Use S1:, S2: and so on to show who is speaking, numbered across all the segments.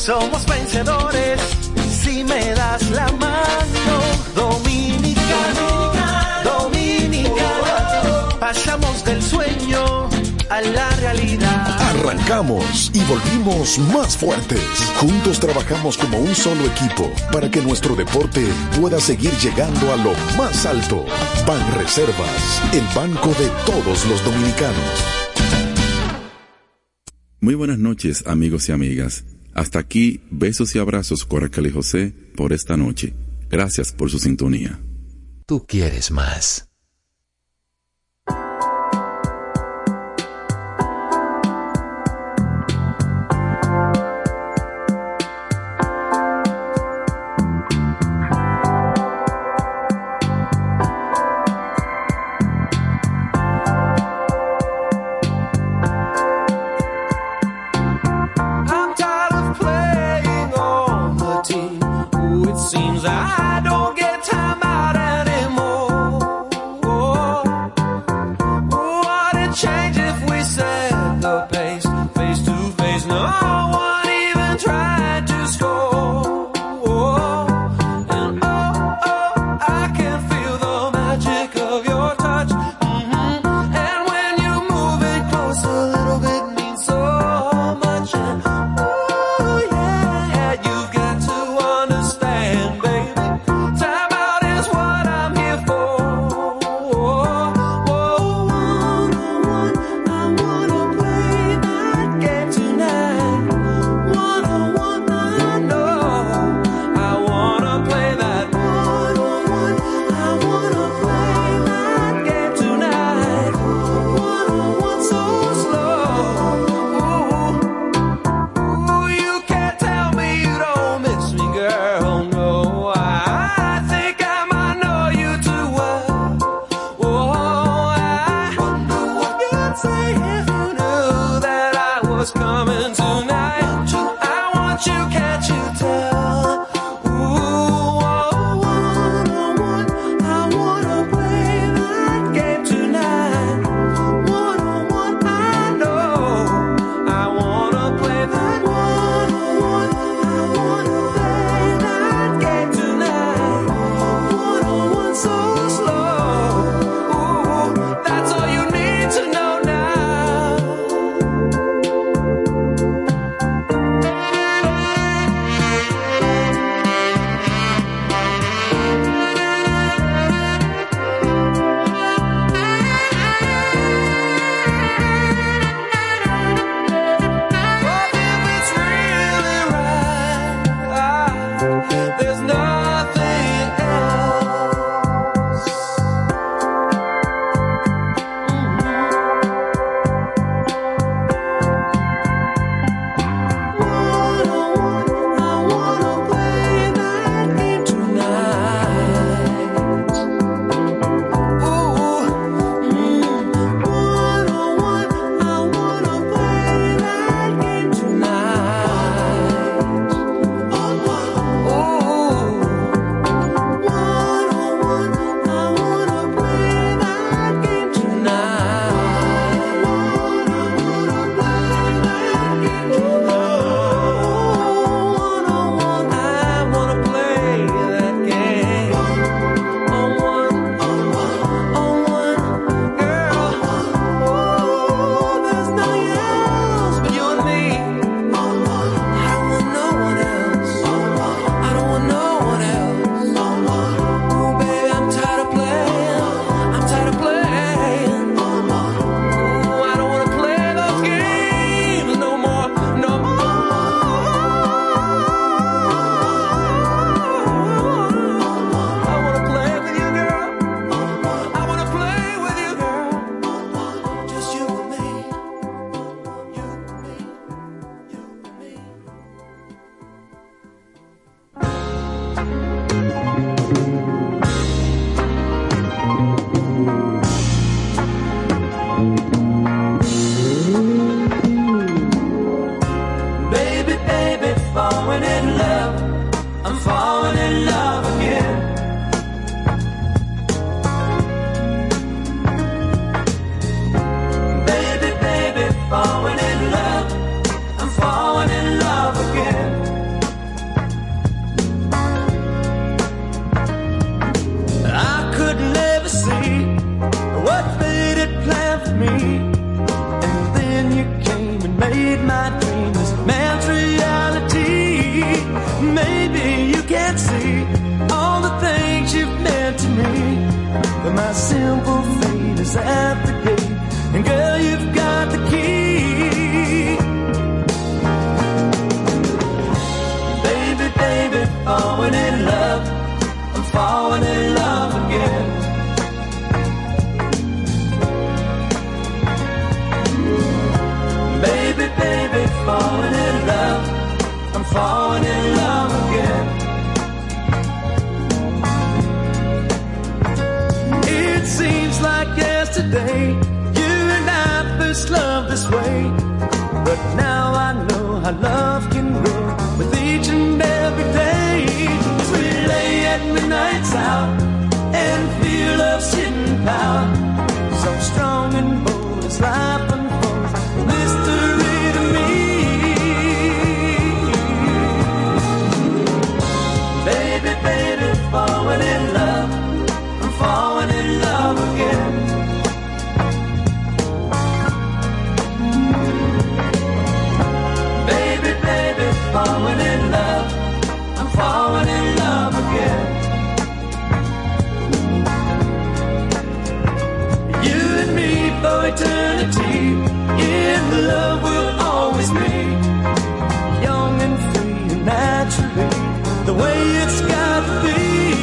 S1: Somos vencedores si me das la mano. Dominicano, dominicano. Pasamos del sueño a la realidad.
S2: Arrancamos y volvimos más fuertes. Juntos trabajamos como un solo equipo para que nuestro deporte pueda seguir llegando a lo más alto. Banreservas, el banco de todos los dominicanos.
S3: Muy buenas noches, amigos y amigas. Hasta aquí, besos y abrazos con Raquel y José por esta noche. Gracias por su sintonía.
S4: Tú quieres más.
S1: Seems I don't get time out anymore. this love this way. But now I know how love can grow with each and every day. As we lay at midnight's hour and feel love's hidden power, so strong and bold as life unfolds, mystery to me. Baby, baby, falling in love, I'm falling in love again. Baby, baby, falling in love, I'm falling in love again. You and me for eternity, in love we'll always be, young and free and naturally, the way it's got to be.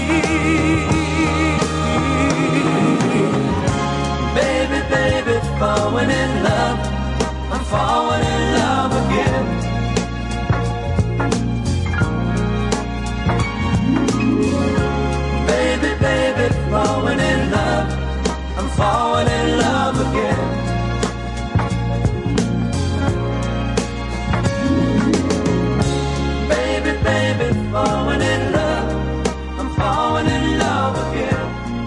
S1: Baby, baby, falling in love, I'm falling in love again. Baby, baby, falling in love, I'm falling in love again. Baby, baby, falling in love, I'm falling in love again.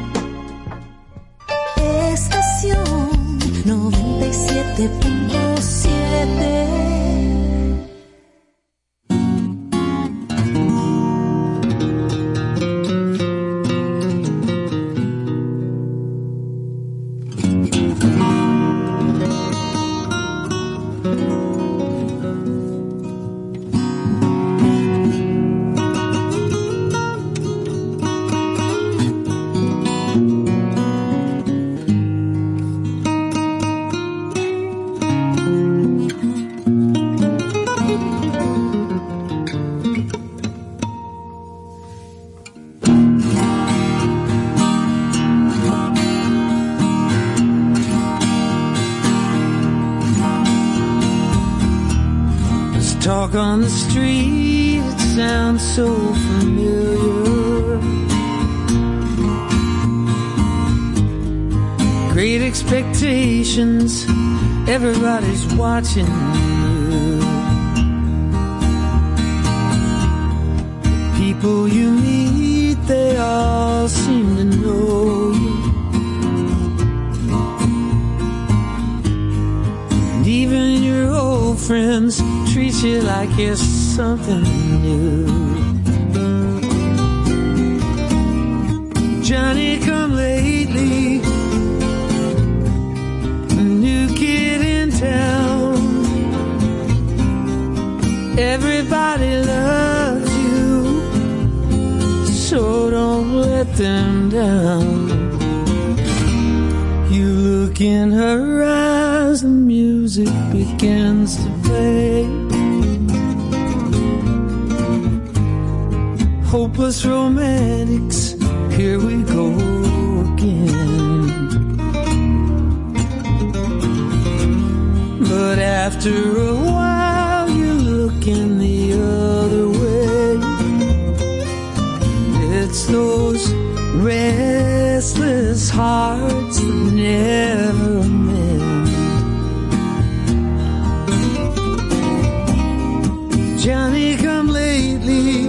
S5: Estación 97.7.
S1: Talk on the street, it sounds so familiar. Great expectations, everybody's watching you. People you meet, they all seem to know you. And even your old friends treat you like it's something new. Johnny come lately, a new kid in town. Everybody loves you, so don't let them down. You look in her eyes, the music begins to play. Hopeless romantics, here we go again. But after a while you're looking the other way. It's those restless hearts that never mend. Johnny come lately,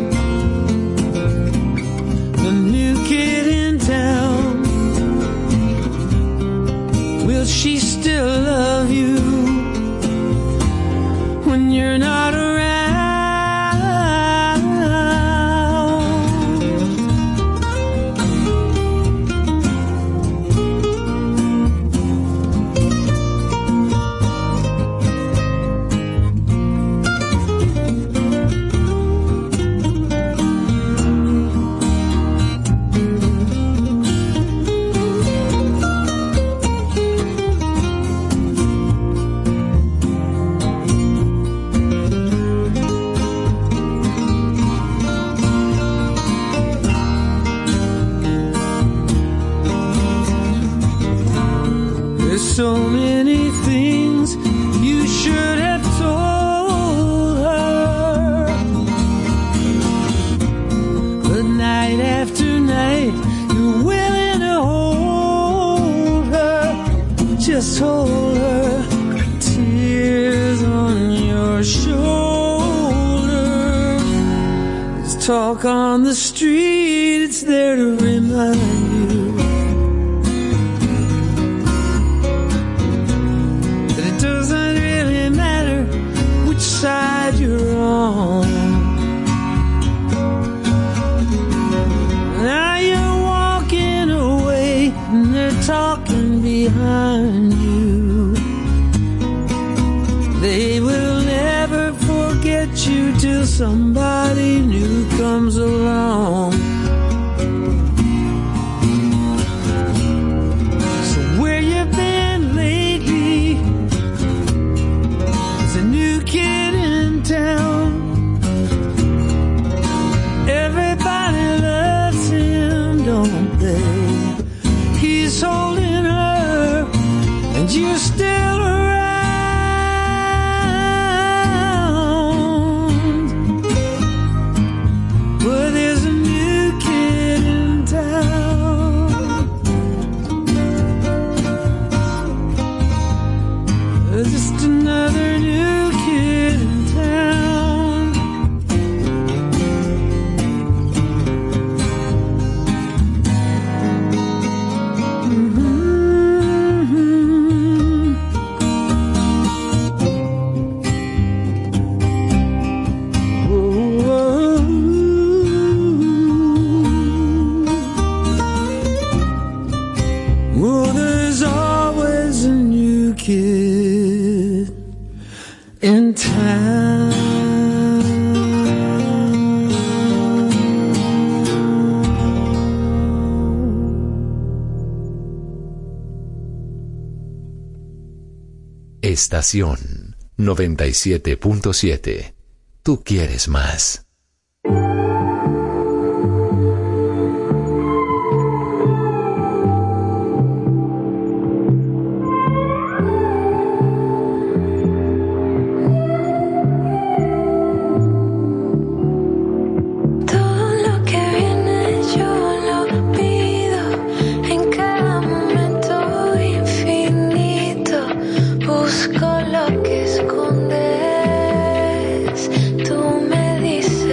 S1: the new kid in town. Will she still love you when you're not around? on the street, it's there to remind you that it doesn't really matter which side you're on. Now you're walking away and they're talking behind you. They will never forget you till somebody new comes along. So where you been lately? There's a new kid in town. Everybody loves him, don't they? He's holding her and you're still around. Just another new kid in town. Oh, there's always a new kid in town.
S4: Estación 97.7. Tú quieres más.
S5: Busco lo que escondes, tú me dices.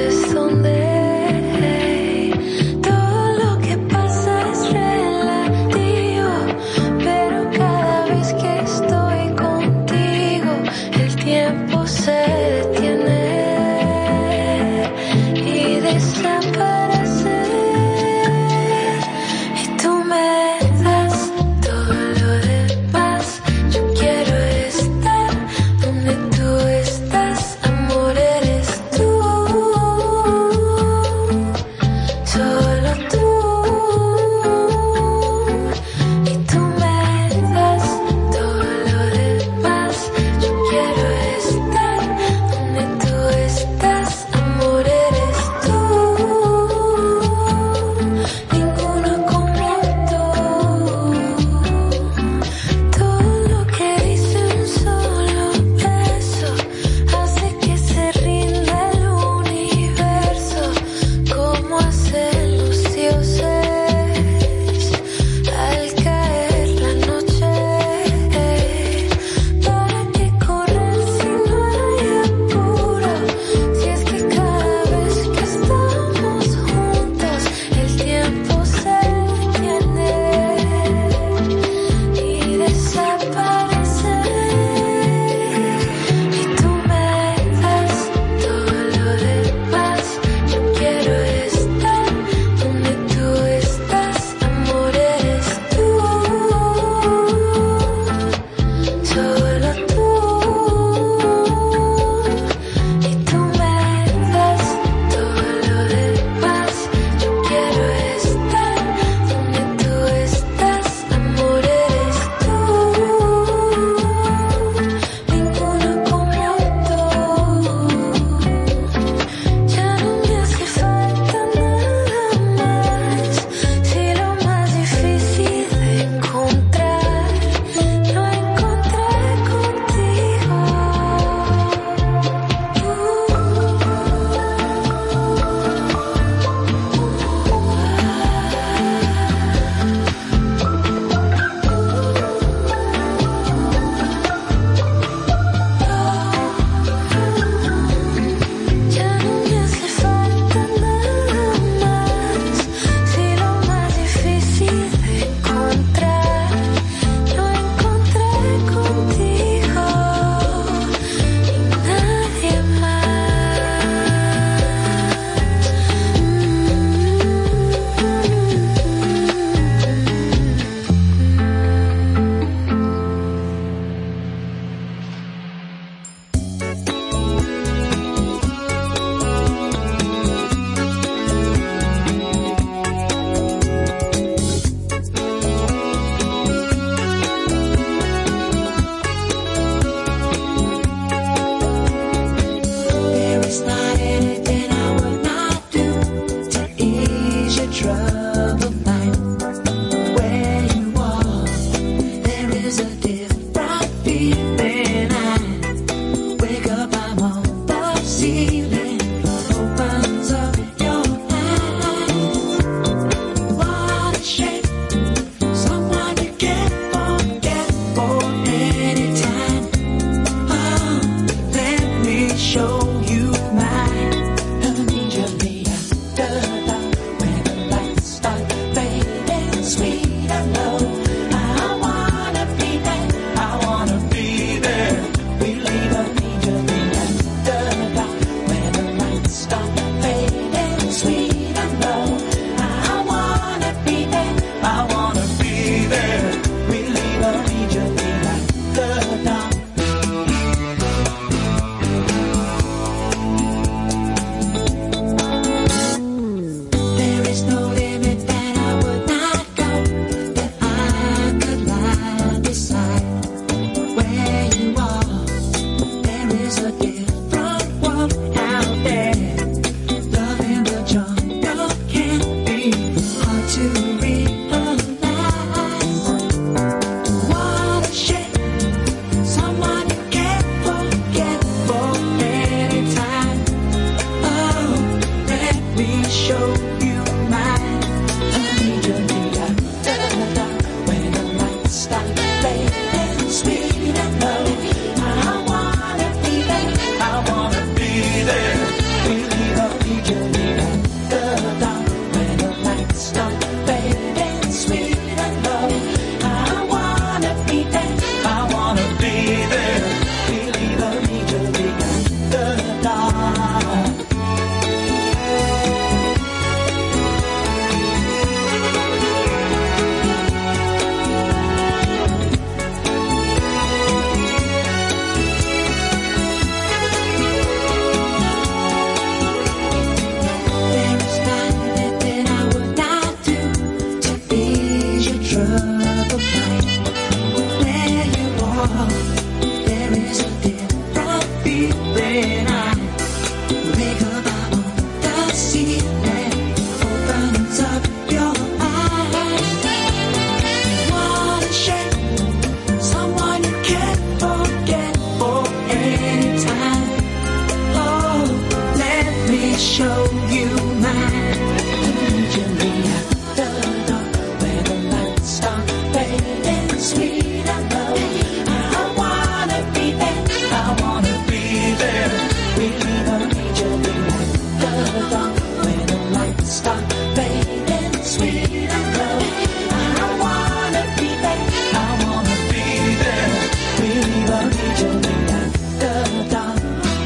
S5: anytime. Oh, let me show you mine. Usually after dark, where the lights start fading, sweet and low. I wanna be there, I wanna be there. Really don't need you after dark, where the lights start fading, sweet and low. I wanna be there, I wanna be there. Really don't need you after dark.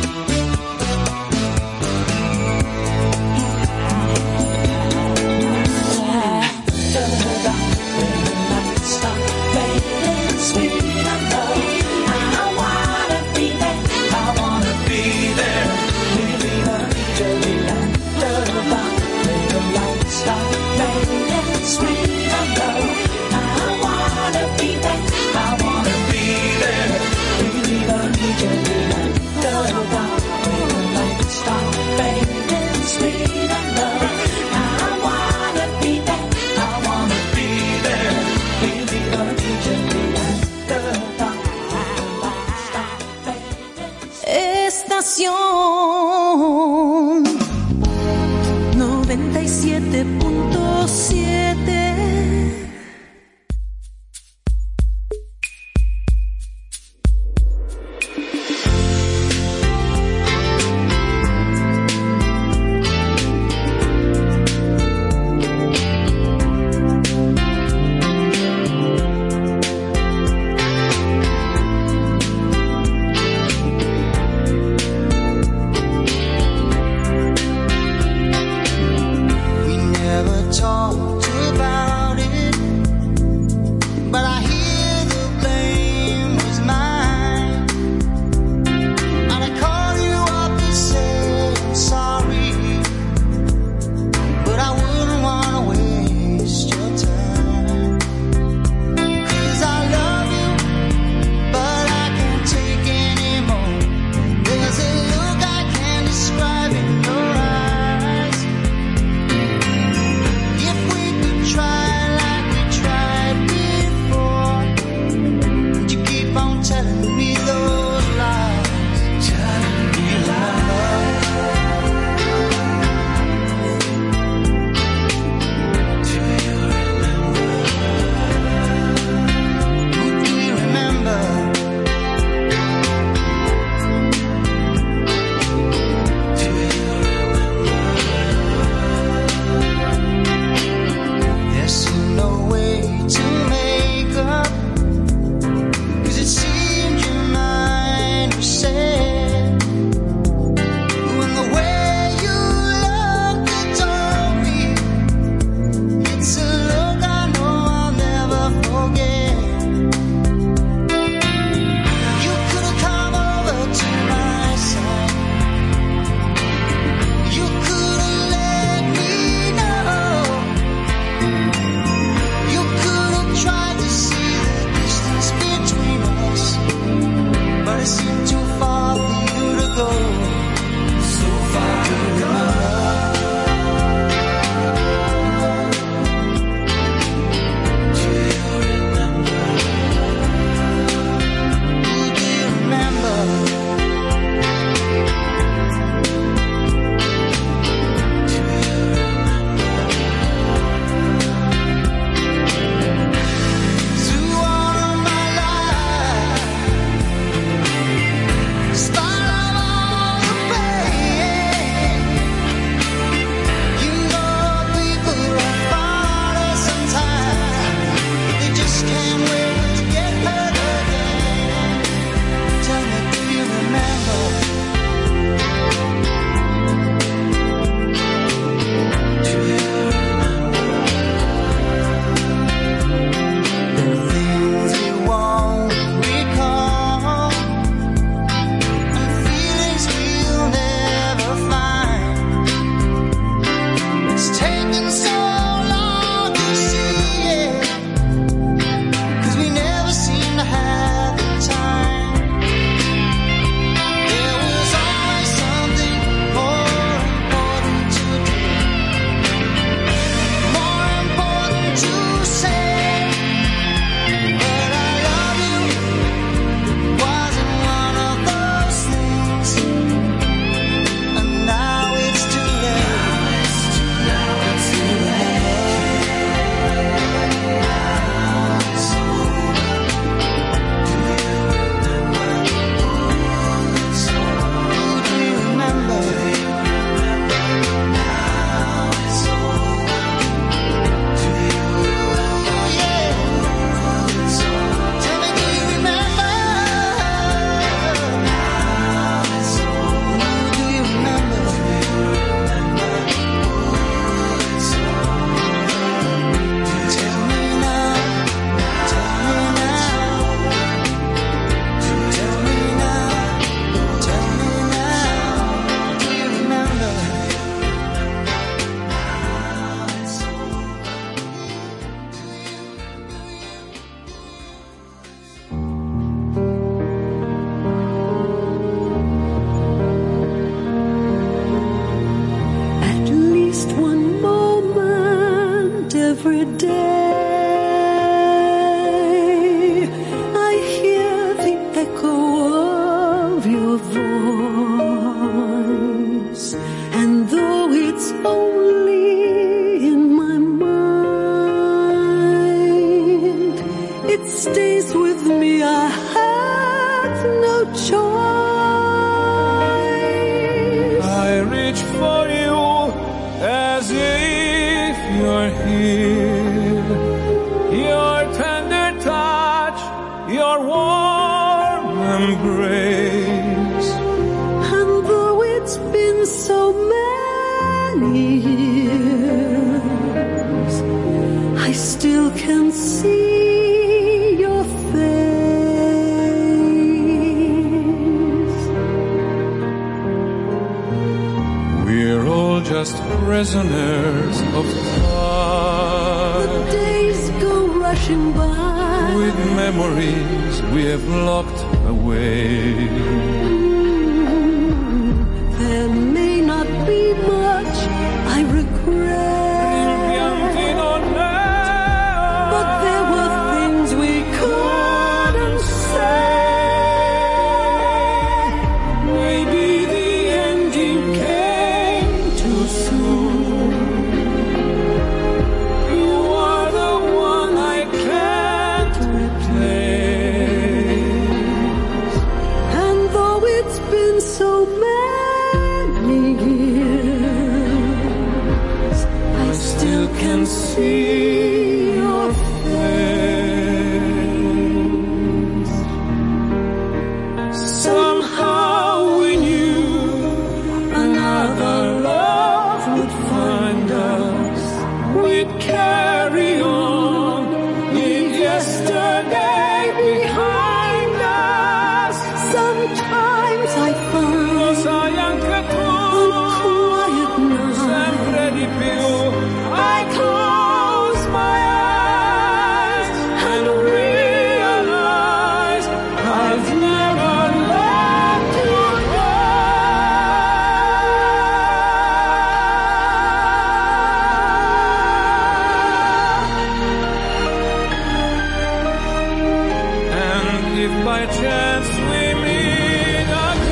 S5: Estación 97.7. Too far
S1: grace.
S5: And though it's been so many years, I still can see your face.
S1: We're all just prisoners of time.
S5: The days go rushing by
S1: with memories we have locked away.
S5: There may not be much I regret, but there were things we couldn't say.
S1: Maybe the ending came too soon. You are the one I can't replace.
S5: And though it's been so many years, I still can see your face.
S1: Somehow we knew another love would find us. We'd carry on, leave yesterday behind us.
S5: Sometimes I find
S1: Lo sai anche tu,
S5: on quiet nights
S1: sempre di più. I close my eyes and realize I've never let you go. And if by chance we meet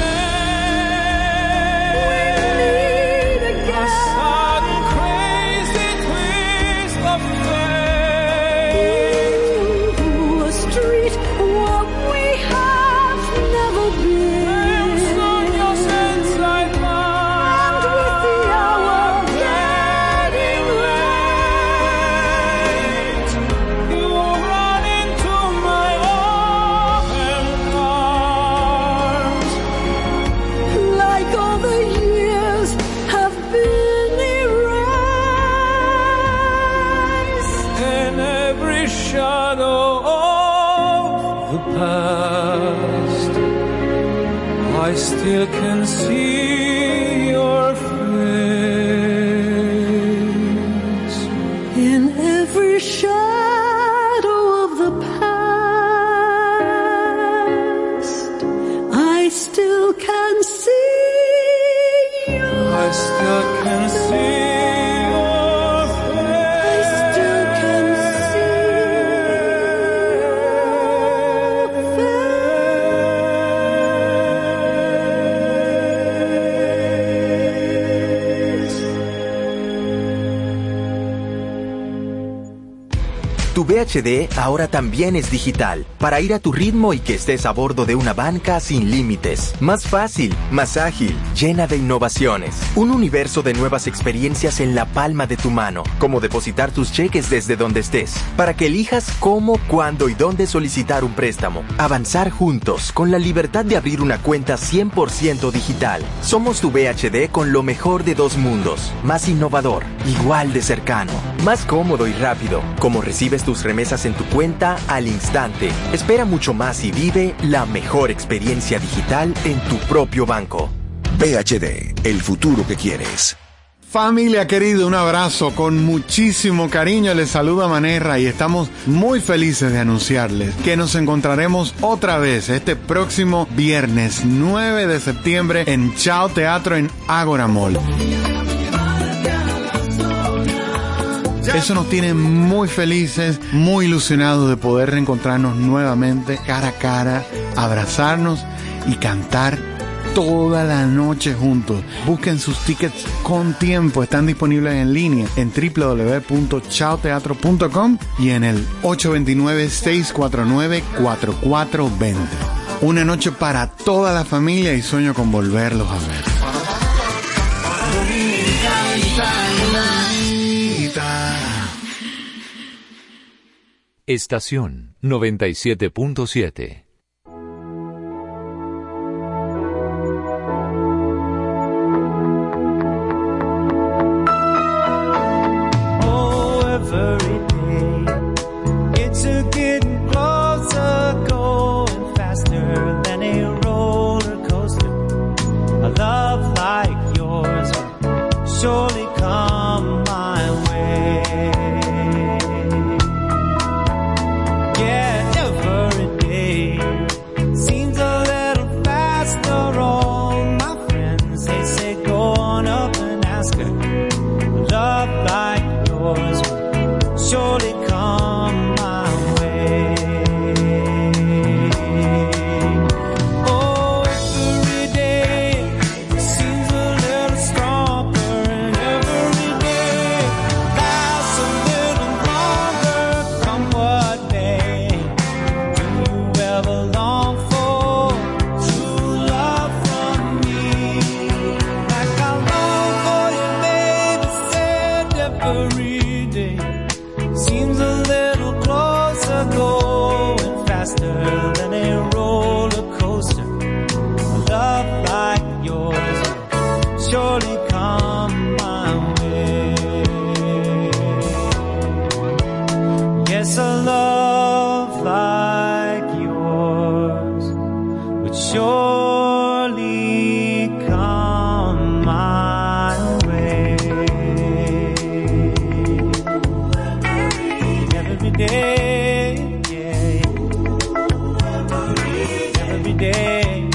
S1: again, a sudden crazy twist of fate,
S5: a street where we have never been,
S1: sogno senza il
S5: and with the hour
S1: getting late, you run into my open arms,
S5: like all the years have been erased.
S1: and every shadow of the past, I still can see your face.
S5: In every shadow of the past, I still can see you.
S1: I still can see your face.
S5: I still can see your face.
S4: Tu VHD ahora también es digital, para ir a tu ritmo y que estés a bordo de una banca sin límites. Más fácil, más ágil, llena de innovaciones. Un universo de nuevas experiencias en la palma de tu mano, como depositar tus cheques desde donde estés, para que elijas cómo, cuándo y dónde solicitar un préstamo. Avanzar juntos, con la libertad de abrir una cuenta 100% digital. Somos tu VHD con lo mejor de dos mundos. Más innovador, igual de cercano, más cómodo y rápido, como recibes tus remesas en tu cuenta al instante. Espera mucho más y vive la mejor experiencia digital en tu propio banco.
S6: VHD, el futuro que quieres.
S7: Familia querida, un abrazo con muchísimo cariño. Les saluda Manerra y estamos muy felices de anunciarles que nos encontraremos otra vez este próximo viernes 9 de septiembre en Chao Teatro en Ágora Mall. Eso nos tiene muy felices, muy ilusionados de poder reencontrarnos nuevamente cara a cara, abrazarnos y cantar toda la noche juntos. Busquen sus tickets con tiempo, están disponibles en línea en www.chaoteatro.com y en el 829-649-4420. Una noche para toda la familia y sueño con volverlos a ver.
S4: Estación 97.7.
S1: surely come my way. Every day, yeah. Every day,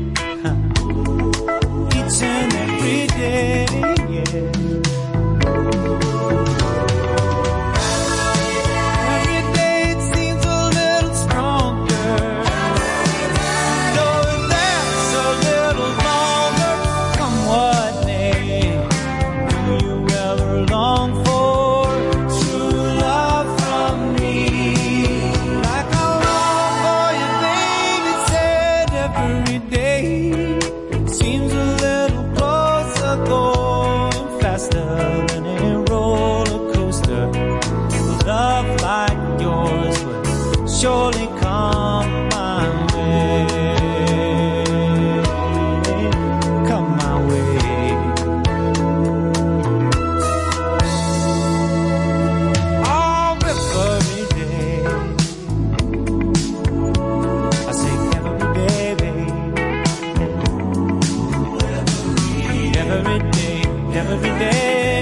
S1: each and every day, yeah. Surely come my way, come my way. Oh, every day, I say every day, babe. Every day, every day.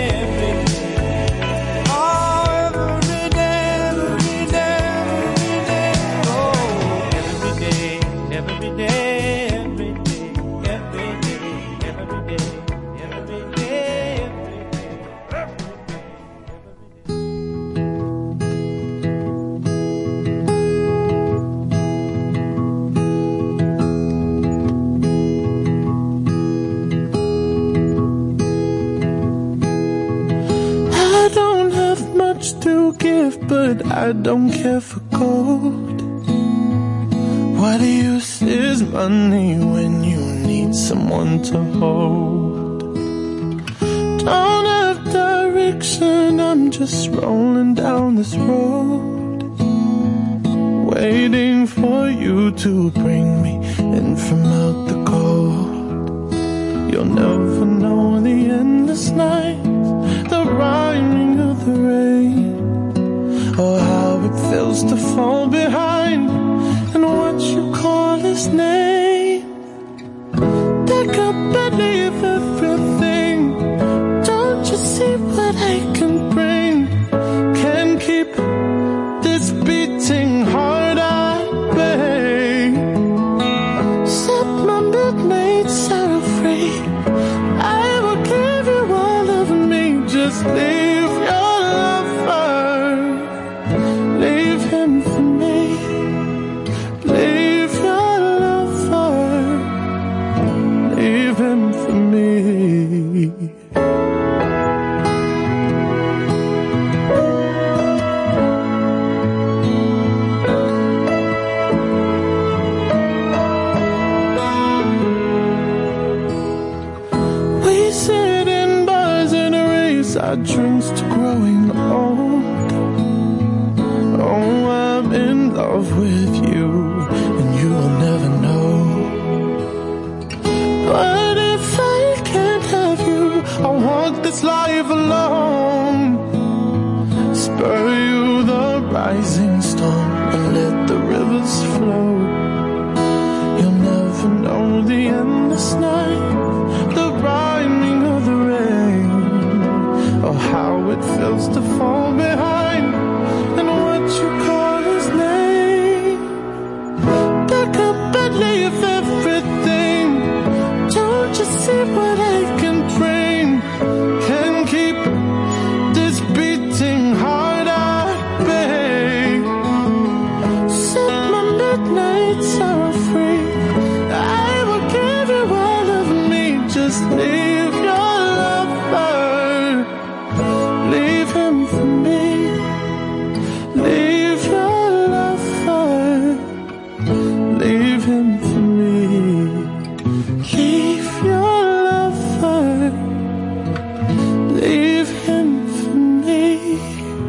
S1: But I don't care for gold. What use is money when you need someone to hold? Don't have direction, I'm just rolling down this road, waiting for you to bring me in from out the cold. You'll never know the endless night, the rhyming of the rain, or how it feels to fall behind and what you call his name. Pick up and leave everything. Don't you see what I can bring? Can't keep this beating heart at bay. Set my midnights out free. I will give you all of me. Just leave your lover. Leave him for me. Leave your lover. Leave him for me. We sit in bars and raise our drinks to growing old. Oh, I'm in love with you, and you'll never know. But if I can't have you, I'll walk this life alone. Spur you the rising storm and let the rivers flow. You'll never know the endless night, the rhyming of the rain, or how it feels to fall behind and what you call his name. Pick up and leave everything. Don't you see what I can bring? Can keep this beating heart at bay. Set my midnights are free. I will give you all of me. Just leave your lover. Leave him for me. Leave your lover. Leave him for me. Leave your lover. Leave him for me.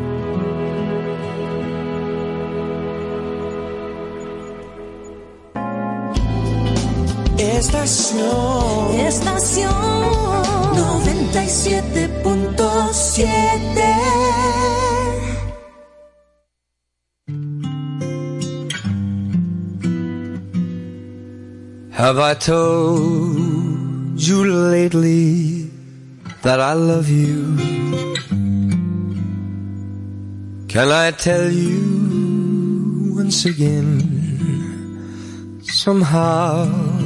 S5: Estación 97.7.
S1: Have I told you lately that I love you? Can I tell you once again, somehow?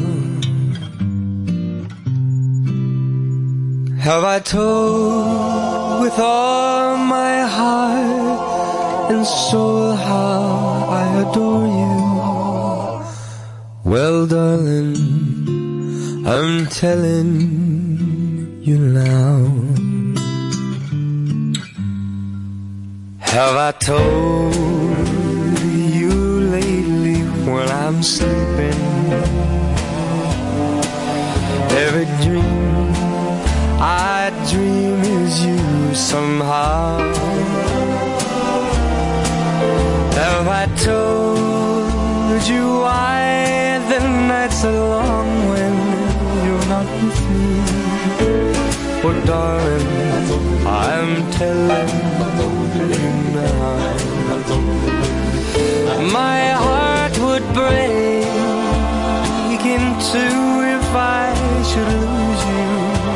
S1: Have I told with all my heart and soul how I adore you? Well, darling, I'm telling you now. Have I told you lately when I'm sleeping? Every dream I dream is you somehow. Have I told you why the nights are long when you're not with me? Oh, darling, I'm telling you now. My heart would break in two if I should lose you.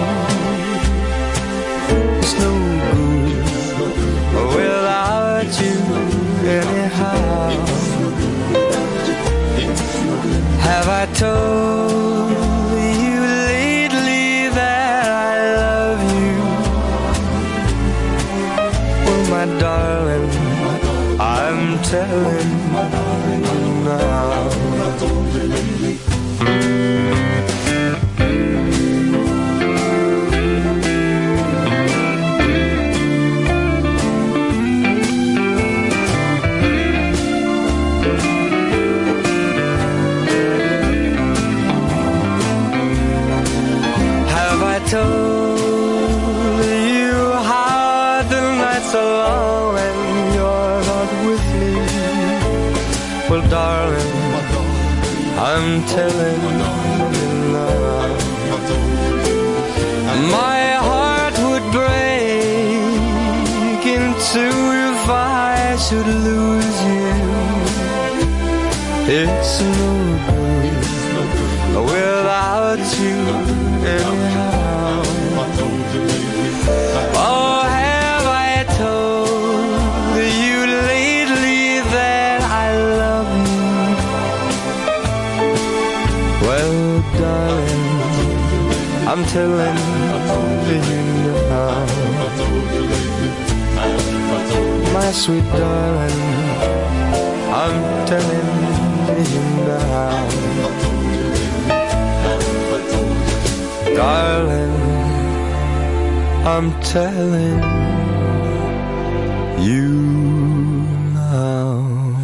S1: It's no good without you anyhow. Have I told you lately that I love you? Well, my darling, I'm telling you now. Told you how the nights are long when you're not with me. Well, darling, I'm telling you now. My heart would break in two if I should lose you. It's no good without you anyhow. Oh, have I told you lately that I love you? Well, darling, I'm telling you now. My sweet darling, I'm telling you now. Darling, I'm telling you now.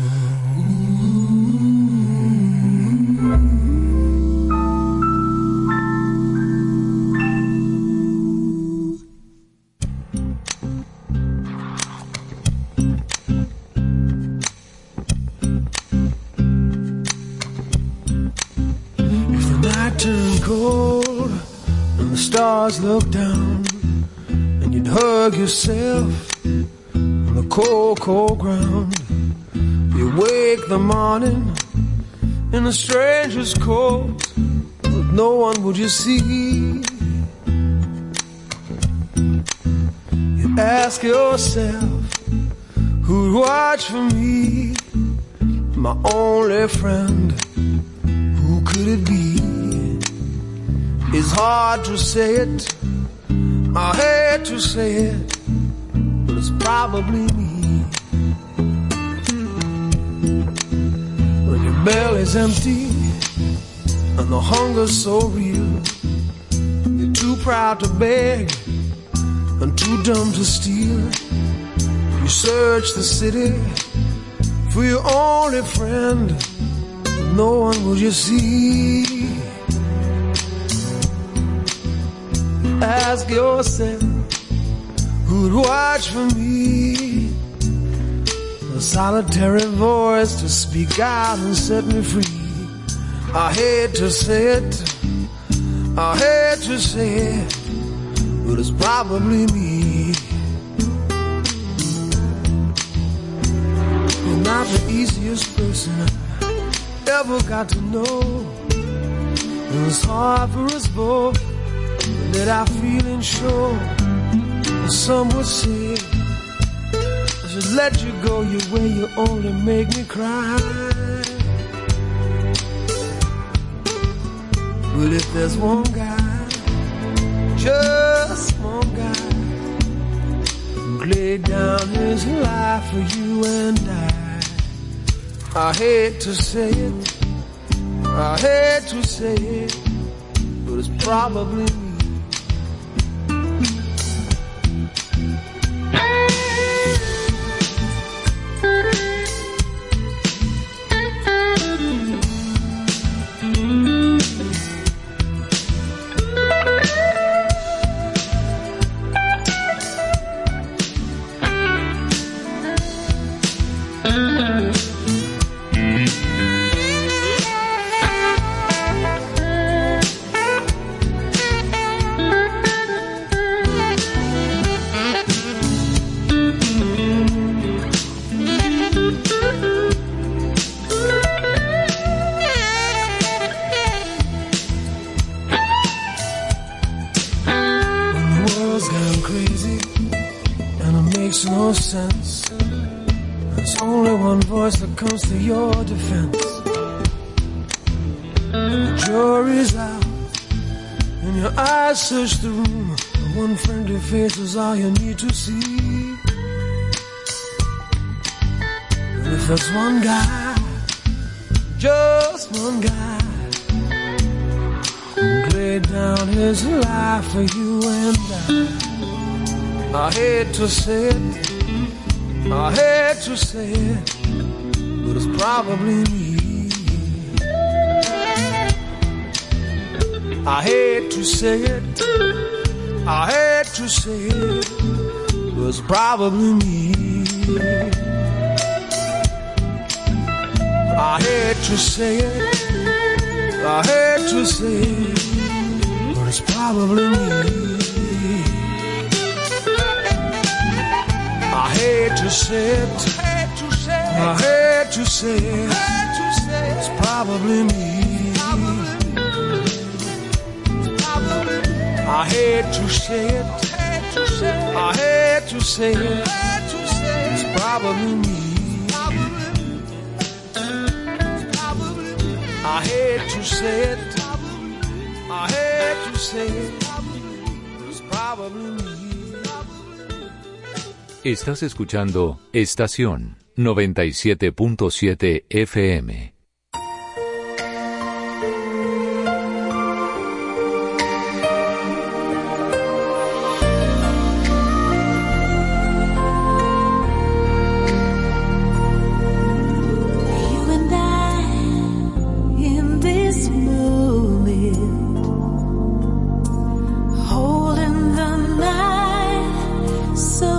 S8: If the night turned cold and the stars looked down, you'd hug yourself on the cold, cold ground. You wake the morning in a stranger's coat, with no one would you see. You ask yourself, who'd watch for me? My only friend, who could it be? It's hard to say it, I hate to say it, but it's probably me. When your belly's empty and the hunger's so real, you're too proud to beg and too dumb to steal. You search the city for your only friend, but no one will you see. Ask yourself, who'd watch for me? A solitary voice to speak out and set me free. I hate to say it, I hate to say it, but it's probably me. You're not the easiest person I ever got to know. It's hard for us both to let our feelings show. Some would say I should let you go your way, you only make me cry. But if there's one guy, just one guy, who laid down his life for you and I hate to say it, I hate to say it, but it's probably me. Comes to your defense. The jury's out and your eyes search the room. The one friendly face is all you need to see. And if there's one guy, just one guy, who laid down his life for you and I hate to say it, I hate to say it, but it's probably me. I hate to say it, I hate to say it, but it's probably me. I hate to say it, I hate to say it, but it's probably me. I hate to say it, I hate to say it, it's probably me. I hate to say it, I hate to say it, it's probably me. I hate to say it, I hate to say it, it's probably me.
S9: Estás escuchando Estación 97.7 FM.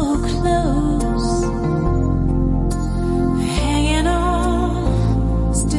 S5: Hanging on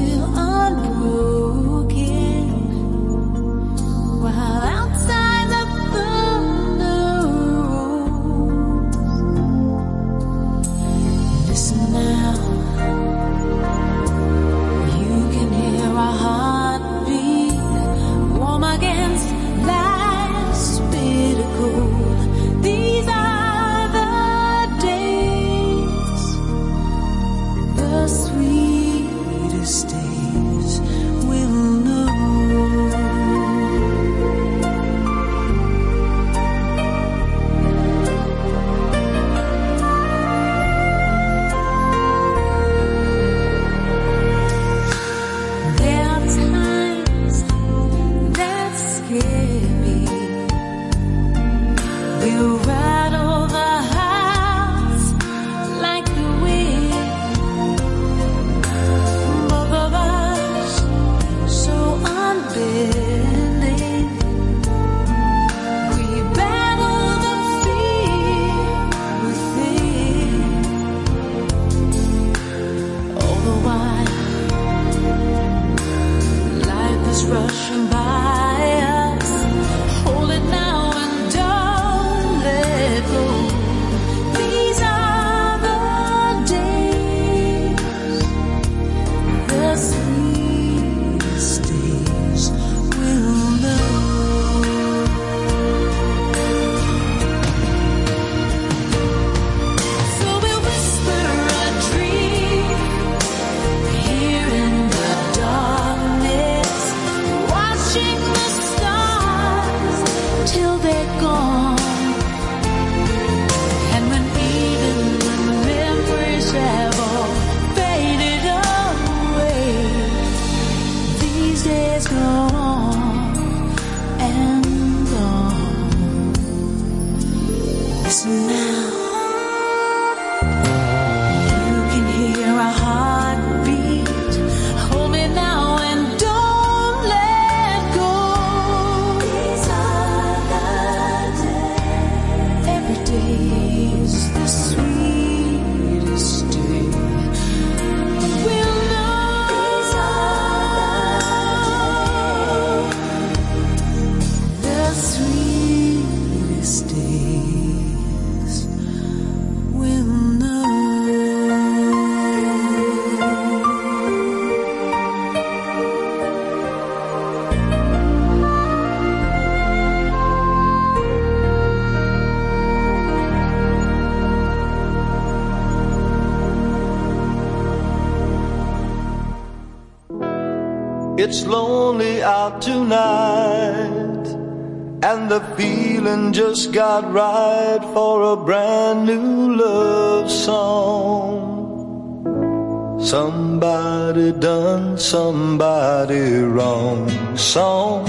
S1: It's lonely out tonight, and the feeling just got right for a brand new love song. Somebody done somebody wrong song.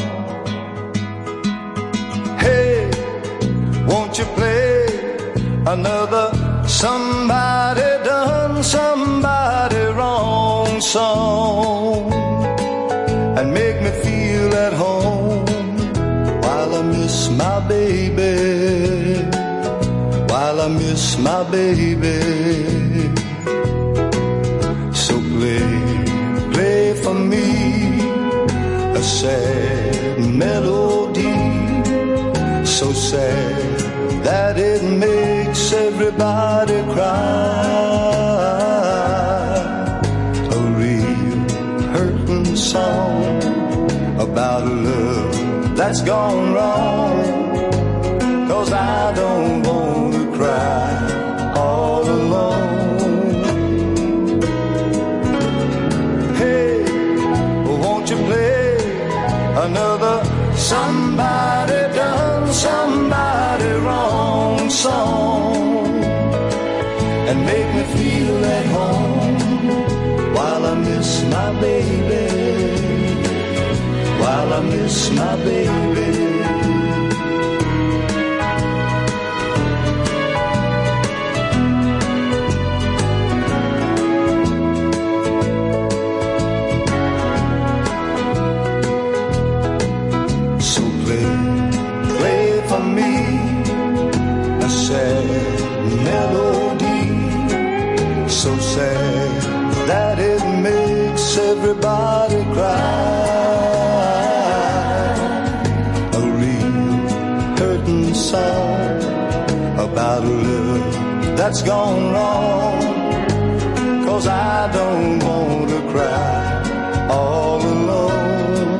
S1: Hey, won't you play another somebody done somebody wrong song, and make me feel at home while I miss my baby, while I miss my baby. So play for me a sad melody, so sad that it makes everybody cry. A real hurting song about a love that's gone wrong, 'cause I don't want to cry all alone. Hey, won't you play another somebody done somebody wrong song, and make me feel at home while I miss my baby, while I miss my baby. So play for me a sad melody, so sad that it makes everybody cry. A real hurting song about a love that's gone wrong, 'cause I don't want to cry all alone.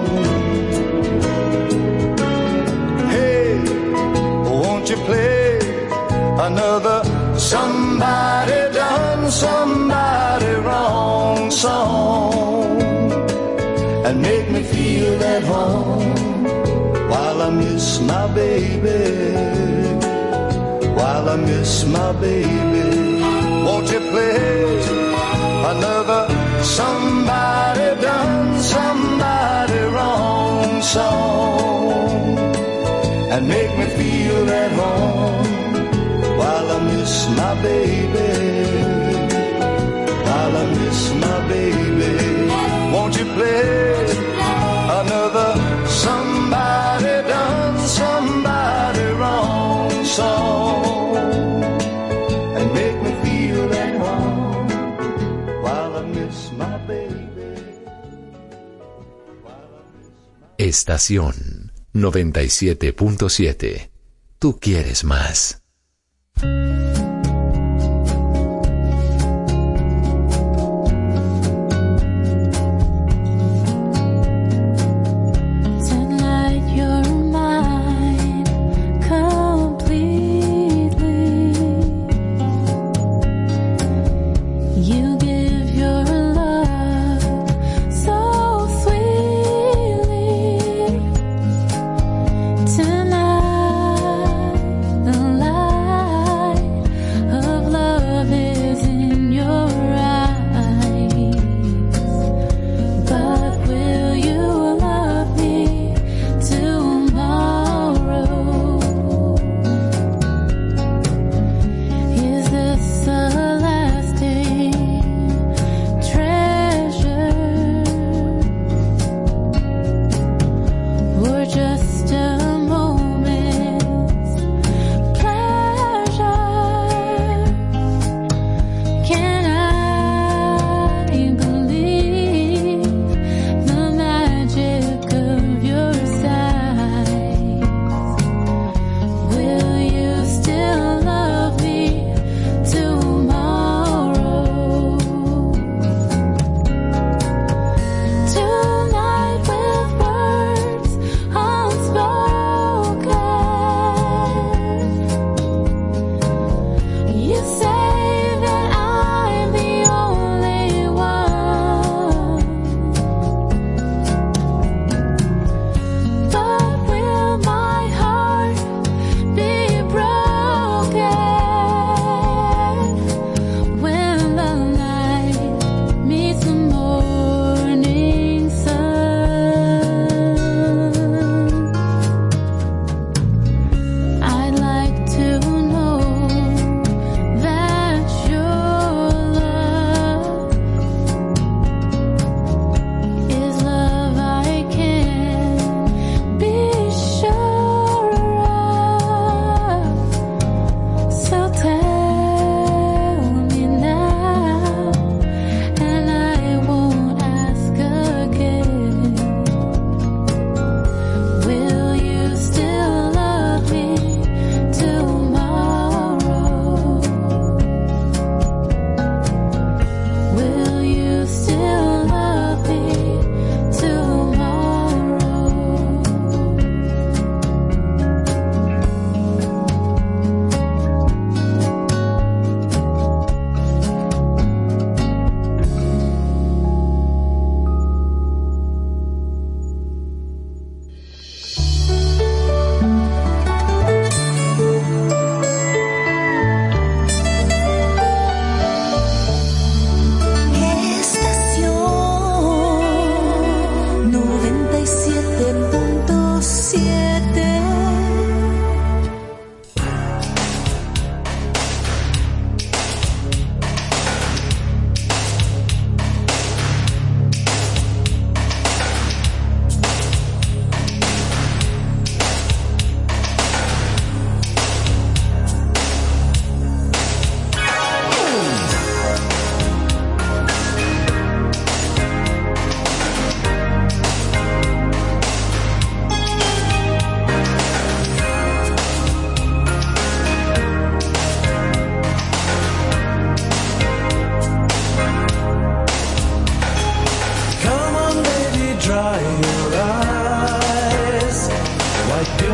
S1: Hey, won't you play another somebody done somebody wrong song, and make me feel at home while I miss my baby, while I miss my baby. Won't you play another somebody done somebody wrong song, and make me feel at home while I miss my baby, while I miss my baby. Won't you play another somebody done somebody wrong song, and make me feel at home while I miss my baby, while I miss my...
S9: Estación 97.7. Tú quieres más.
S5: Tonight, the light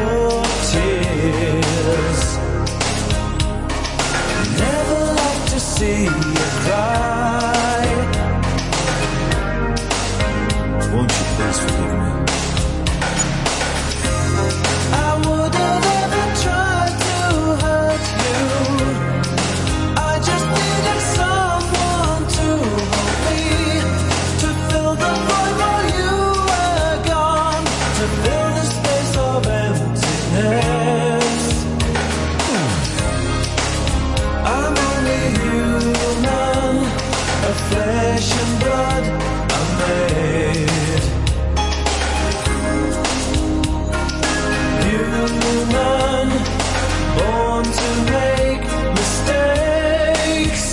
S1: of tears. Never like to see you cry. Won't you please forgive me? I would have ever tried to hurt you. I just needed someone to hold me, to fill the void while you were gone, to fill the space of emptiness. I'm only human, of flesh and blood I'm made. Human, born to make mistakes.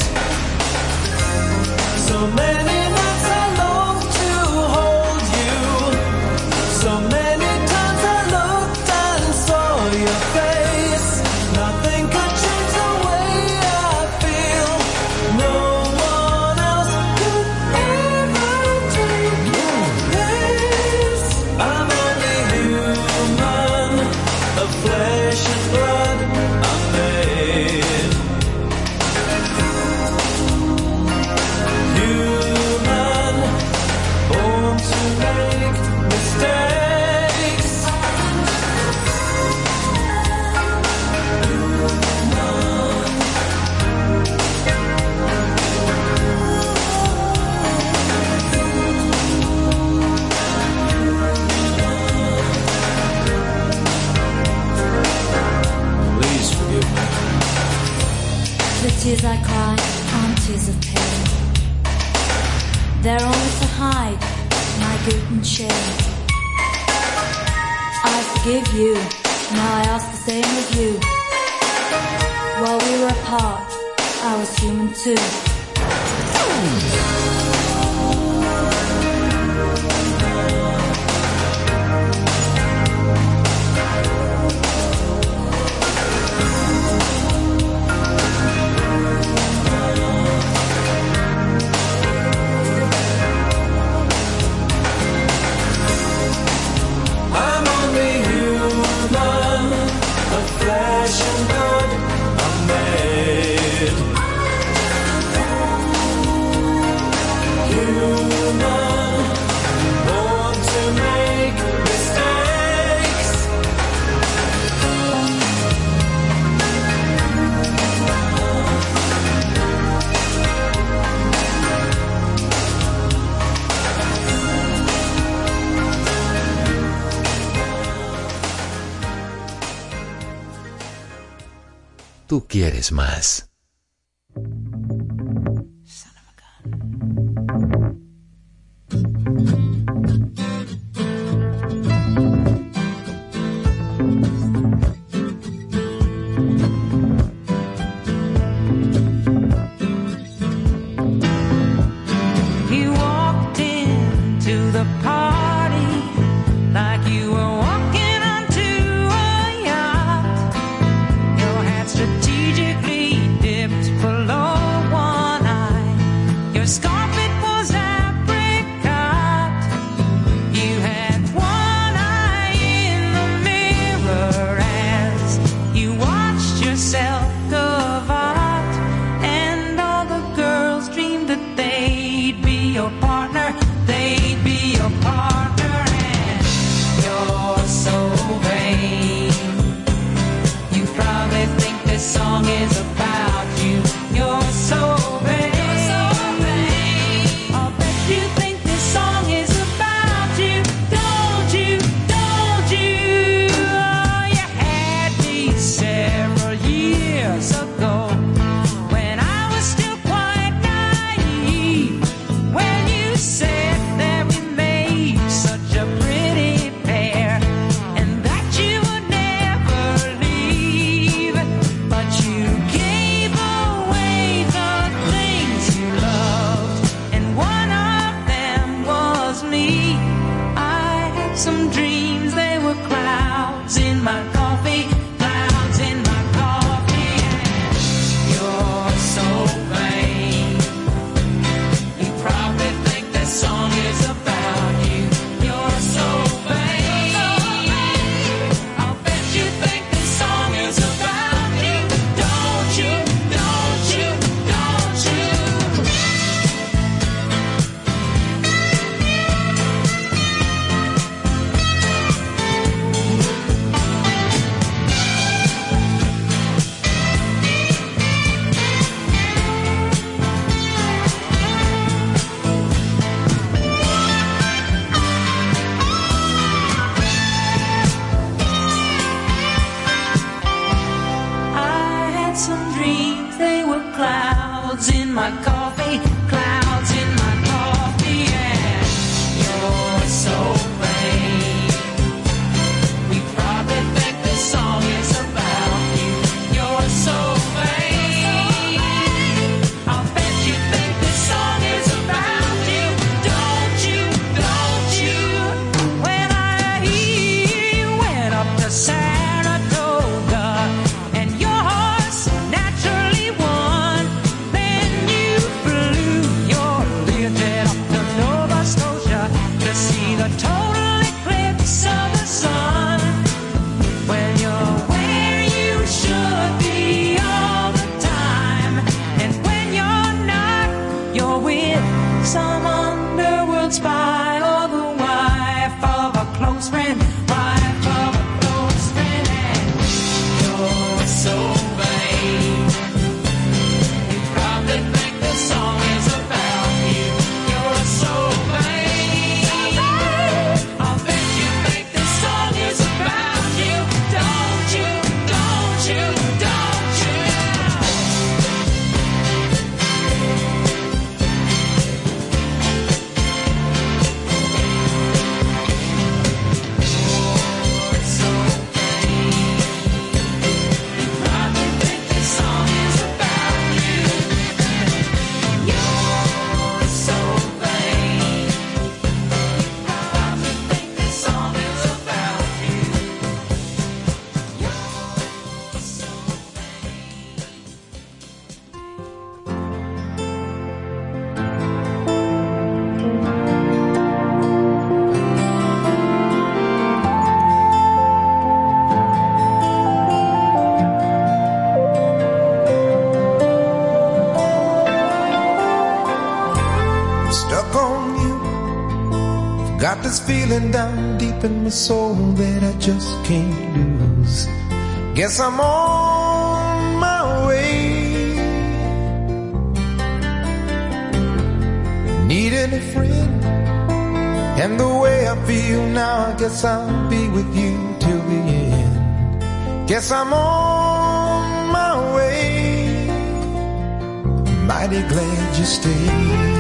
S1: So many nights I long to hold you. So many times I looked and saw your face. Nothing could change the way I feel. No one else could ever take your place. I'm only human, of flesh and blood I'm made. Human, born to make mistakes. Please forgive me.
S10: The tears I cry aren't tears of pain. They're only to hide my guilt and shame. I forgive you, now I ask the same of you. While we were apart, I was human too.
S1: I'm only human, of flesh and blood I'm made. Human, born to make mistakes.
S9: Tú quieres más.
S5: He walked into the party like you were walking onto a yacht. Your hat strategically dipped below one eye. Your scarf, it was apricot. You had one eye in the mirror as you watched yourself gavotte. And all the girls dreamed that they'd be your partner. They'd be your partner. And you're so vain. You probably think this song is about you. You're so vain. I'll bet you think this song is about you. Don't you? Don't you? Oh, you had me several years ago when I was still quite naive. When you said that we made such a pretty pair and that you would never leave, but you gave away the things you loved, and one of them was me. I had some dreams, they were clouds in my coffee, clouds in my coffee. And you're so vain. You probably think this song is about you. You're so vain. I'll bet
S8: this feeling down deep in my soul that I just can't lose. Guess I'm on my way. Needing a friend, and the way I feel now, I guess I'll be with you till the end. Guess I'm on my way. Mighty glad you stayed.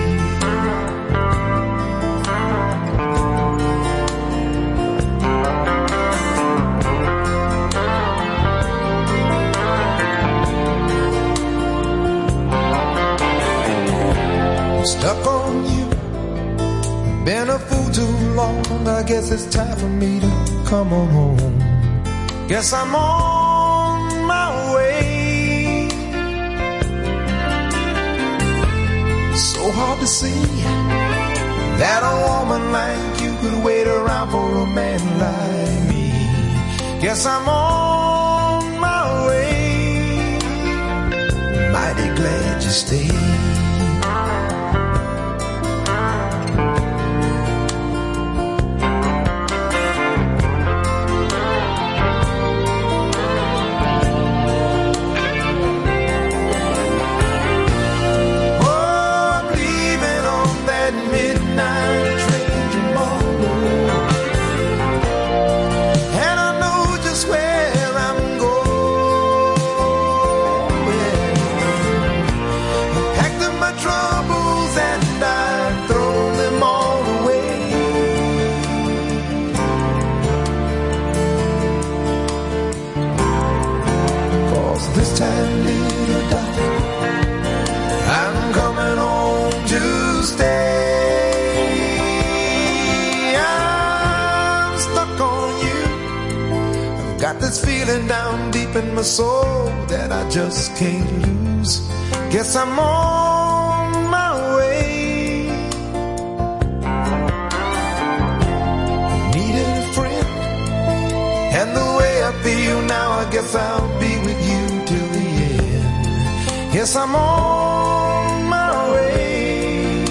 S8: Stuck on you, been a fool too long. I guess it's time for me to come on home. Guess I'm on my way. So hard to see that a woman like you could wait around for a man like me. Guess I'm on my way. Mighty glad you stayed. Down deep in my soul that I just can't lose. Guess I'm on my way. Needed a friend, and the way I feel now, I guess I'll be with you till the end. Yes, I'm on my way.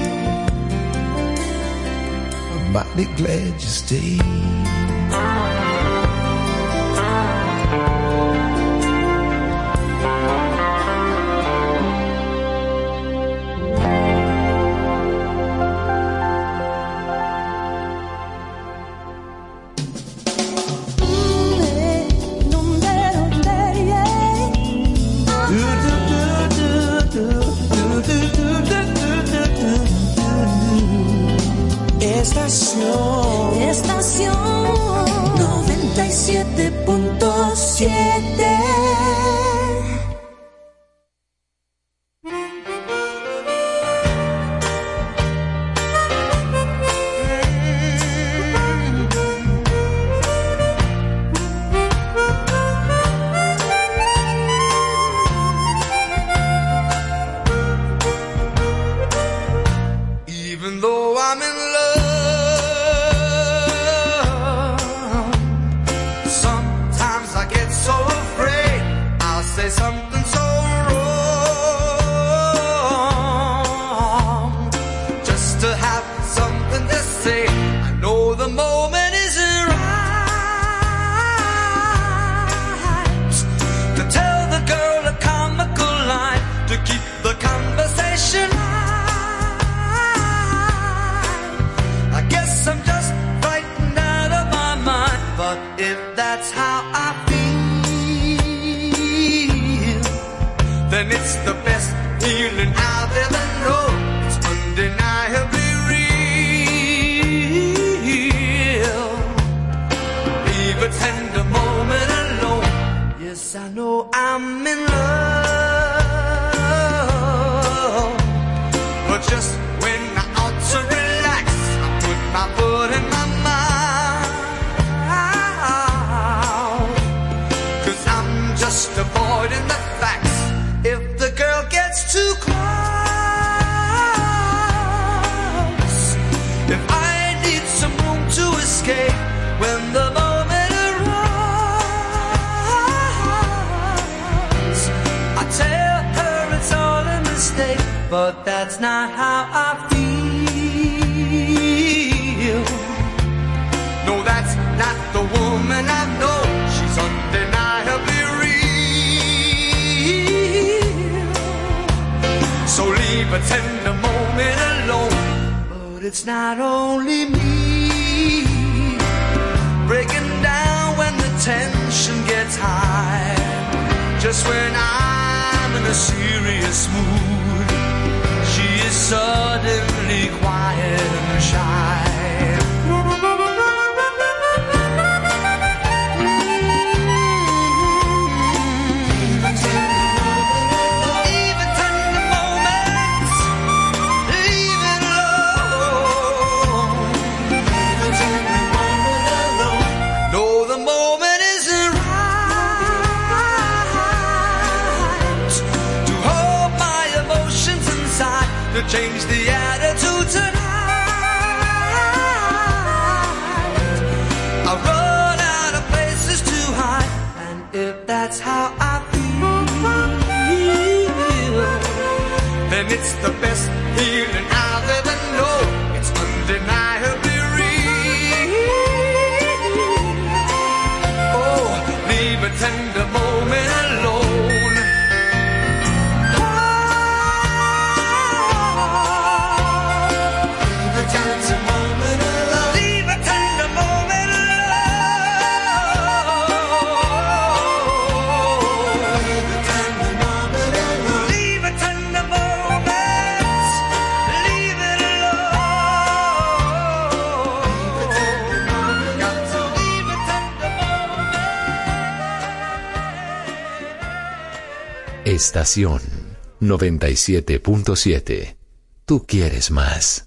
S8: I'm mighty glad you stayed.
S5: Estación 97.7.
S1: Even though I'm in love, sometimes I get so afraid I'll say something so wrong just to have something to say. I know the moment isn't right to tell the girl a comical line to keep the conversation light. I guess I'm just frightened out of my mind, but if that's how I feel, then it's the best feeling I've ever known. It's undeniably real. Leave a tender moment alone. Yes, I know I'm in love, but just when I ought to relax, I put my foot in my mouth, 'cause I'm just avoiding the facts. If the girl gets too close, if I need some room to escape when the moment arrives, I tell her it's all a mistake, but that's not how I feel. No, that's not the woman I know. She's undeniably real. So leave a tender moment alone. But it's not only me breaking down when the tension gets high. Just when I'm in a serious mood, she is suddenly quiet and shy. Change the attitude tonight. I run out of places to hide, and if that's how I feel, then it's the best feeling I've ever known. It's undeniably real. Oh, leave a tender moment alone.
S9: Estación 97.7. Tú quieres más.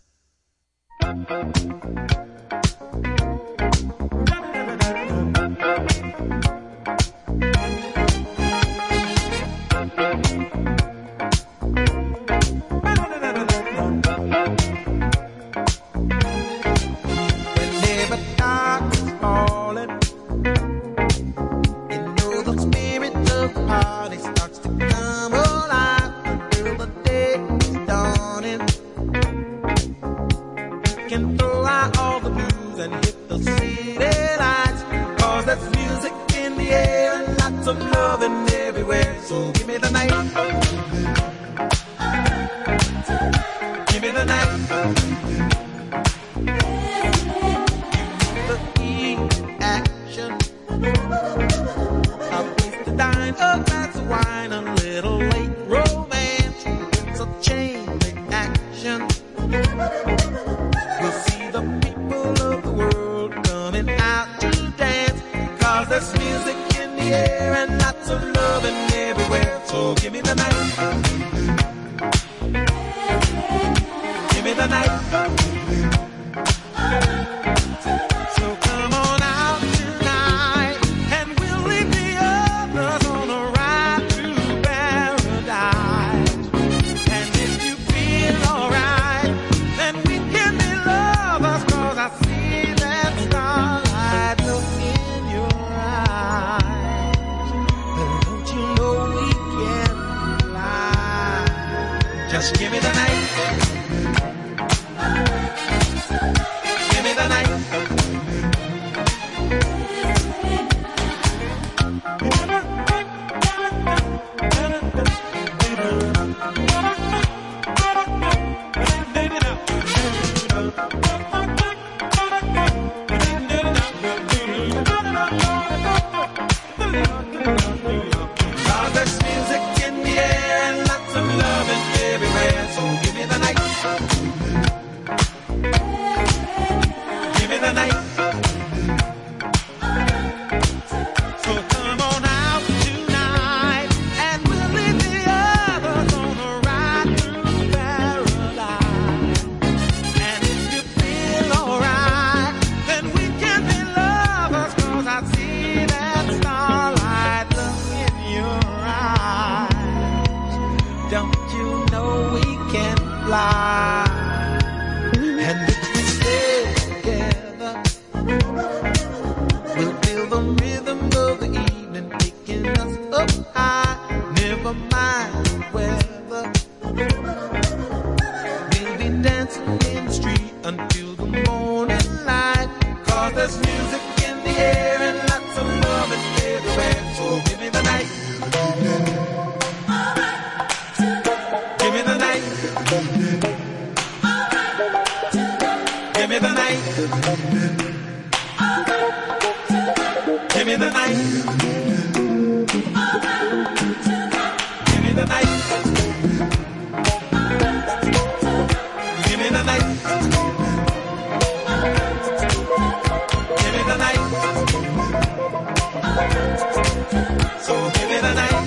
S8: so give me the night.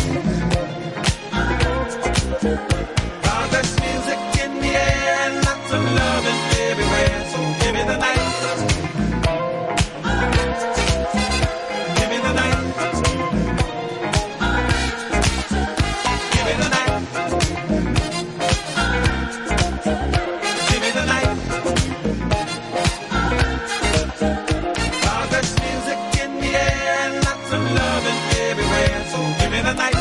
S8: There's music in the air and lots of loving everywhere, so give me the night. Give me the night. Give me the night. Give me the night. There's music in the air and lots of loving everywhere, so give me the night.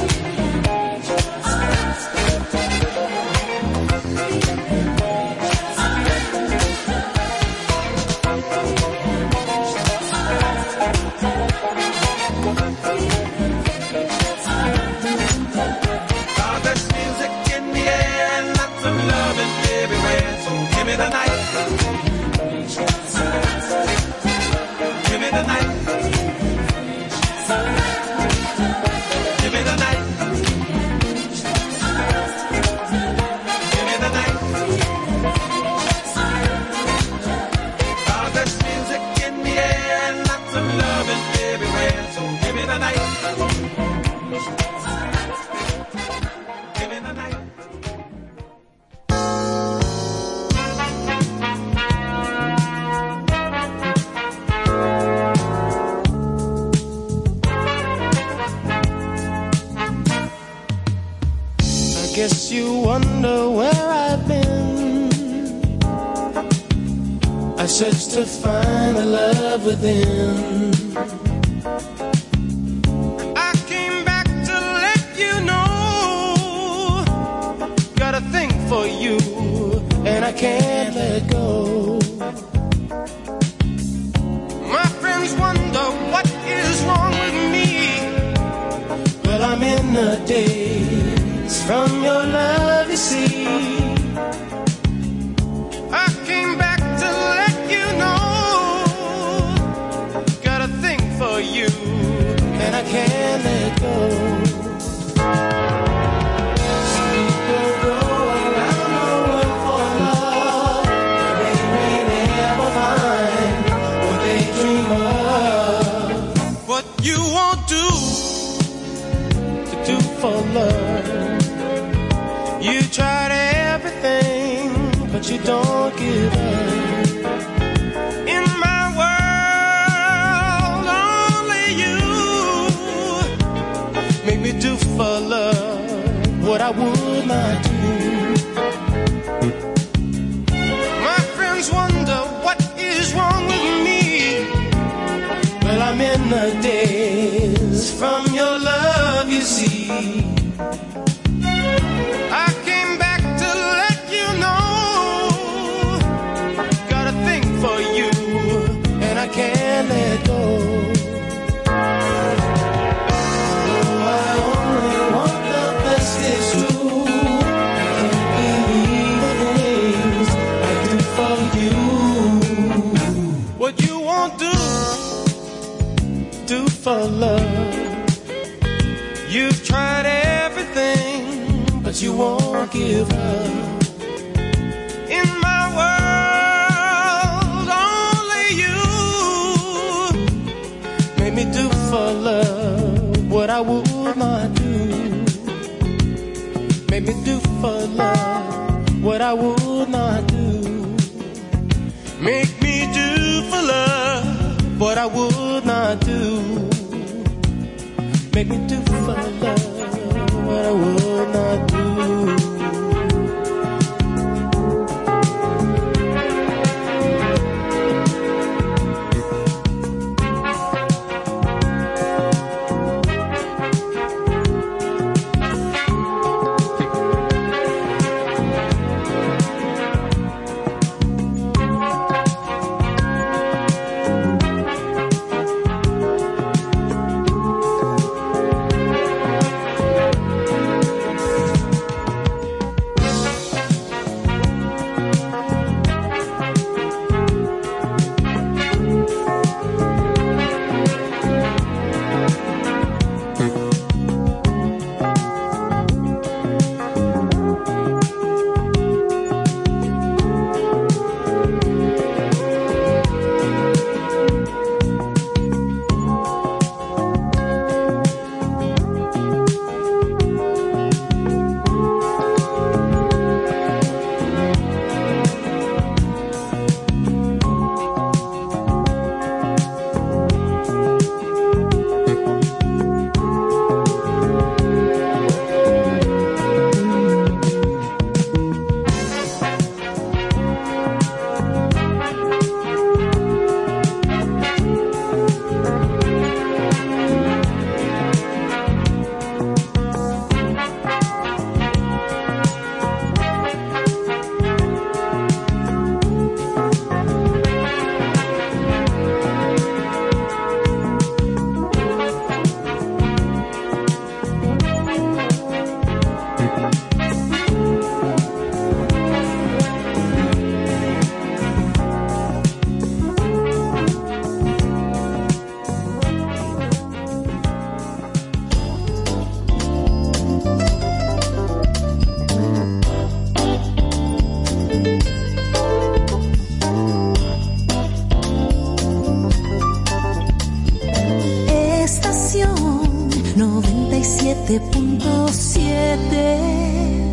S8: There's music in the air and lots of loving everywhere, so give me the night. Give me the night. Give me the night. Give me the night. There's music in the air and lots of loving everywhere, so give me the night. Give me the night. I guess you wonder where I've been. I searched to find the love within. I came back to let you know. Got a thing for you, and I can't let go. My friends wonder what is wrong with me. Well, I'm in a daze from your love, you see. I came back to let you know. Got a thing for you, and I can't let go. Some people go around the world for love, but they may never find what they dream of. What you won't do to do for love. You tried everything, but you don't give up. In my world, only you make me do for love what I would not do. My friends wonder what is wrong with me. Well, I'm in the daze from your love, you see. I came back to let you know. Got a thing for you, and I can't let go. Oh, I only want the best, it's true. I can't believe the things I do for you. What you won't do for love. You've tried everything, but you won't give up. In my world, only you make me do for love what I would not do. Make me do for love what I would not do. Make me do for love what I would not do. Make me do for love what I would not do.
S10: 97.7.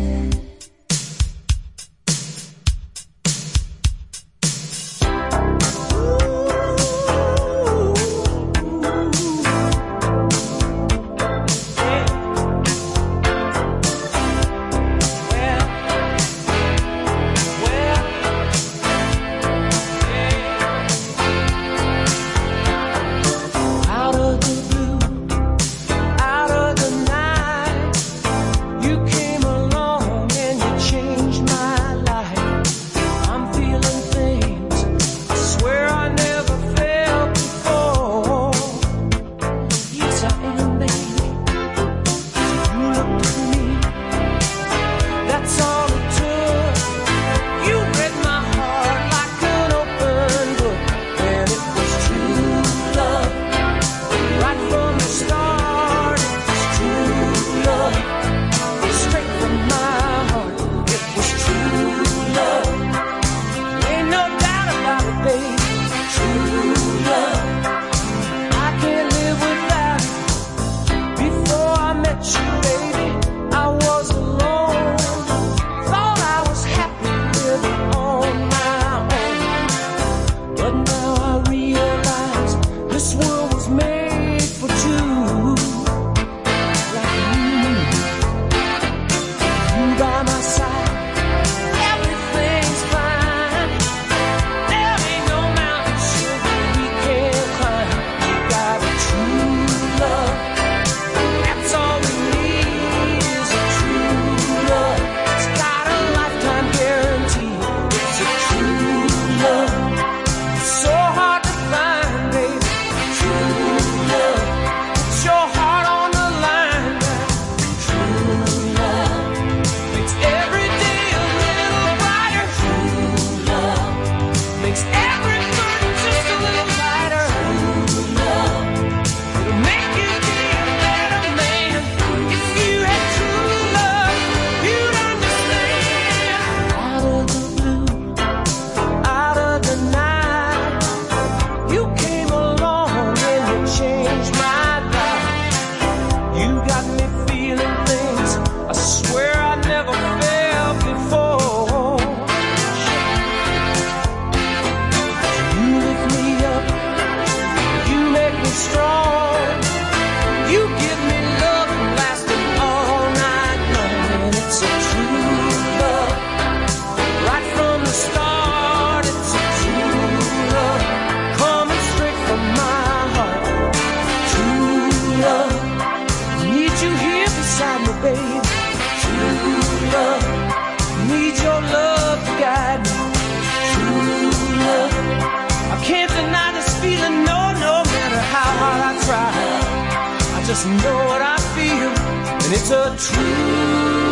S8: Just know what I feel, and it's a true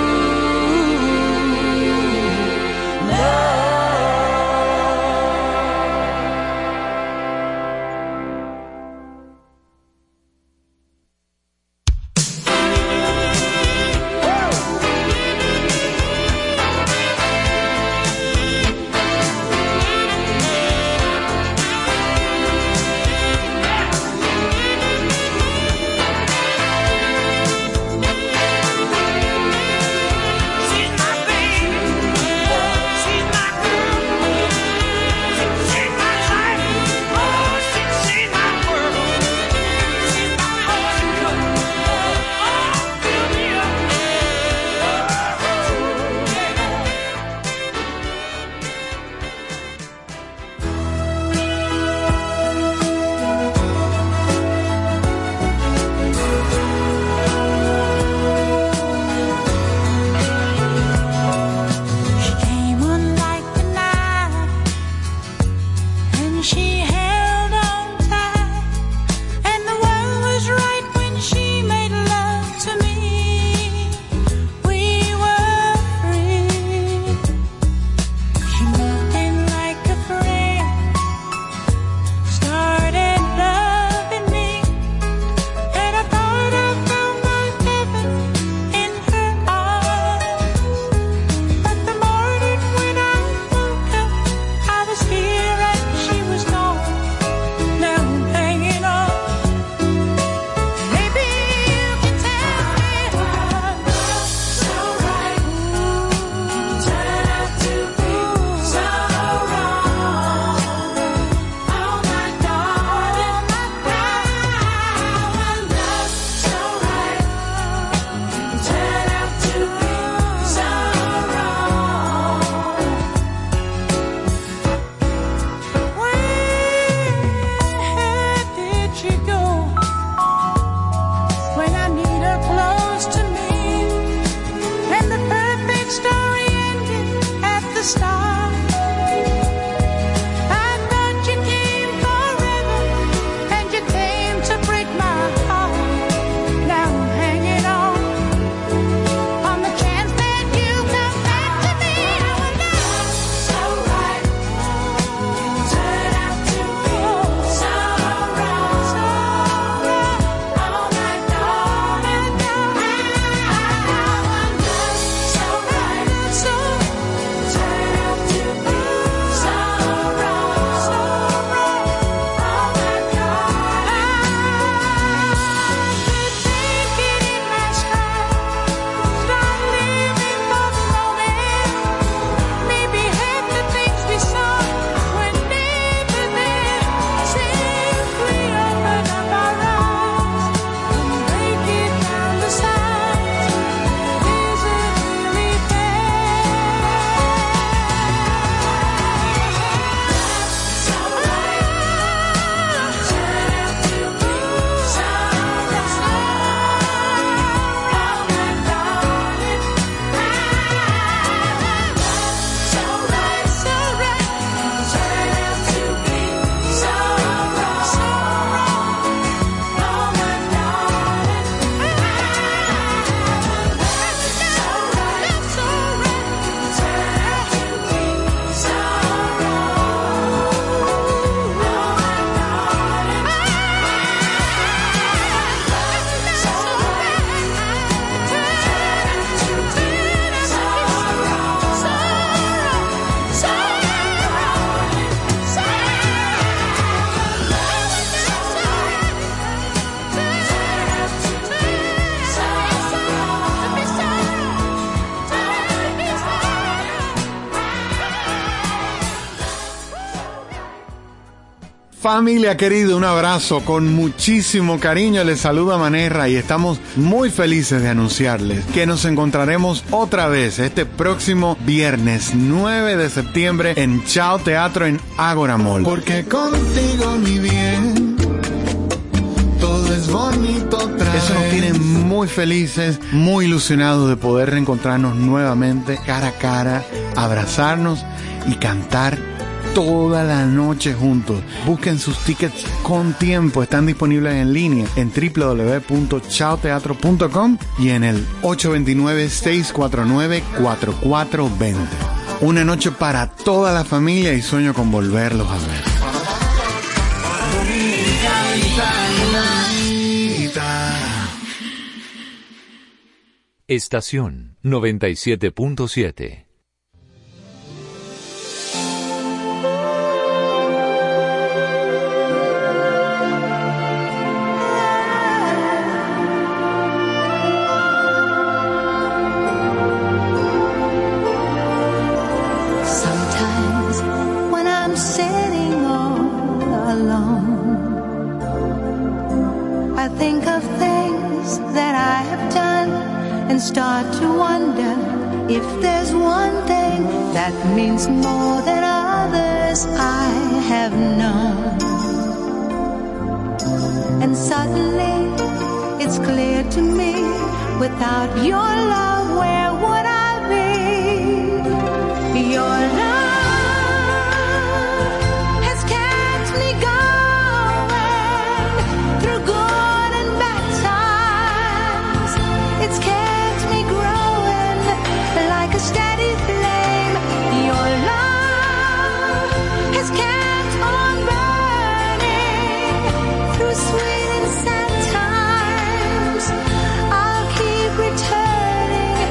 S8: love.
S7: Familia querida, un abrazo con muchísimo cariño. Les saluda Manerra y estamos muy felices de anunciarles que nos encontraremos otra vez este próximo viernes 9 de septiembre en Chao Teatro en Ágora Mall. Porque contigo, mi bien, todo es bonito otra vez. Eso nos tiene muy felices, muy ilusionados de poder reencontrarnos nuevamente cara a cara, abrazarnos y cantar toda la noche juntos. Busquen sus tickets con tiempo. Están disponibles en línea en www.chaoteatro.com y en el 829-649-4420. Una noche para toda la familia y sueño con volverlos a ver.
S9: Estación 97.7.
S5: Start to wonder if there's one thing that means more than others I have known. And suddenly it's clear to me, without your love, where would I be? Your love has kept me going through good and bad times. It's kept like a steady flame. Your love has kept on burning through sweet and sad times. I'll keep returning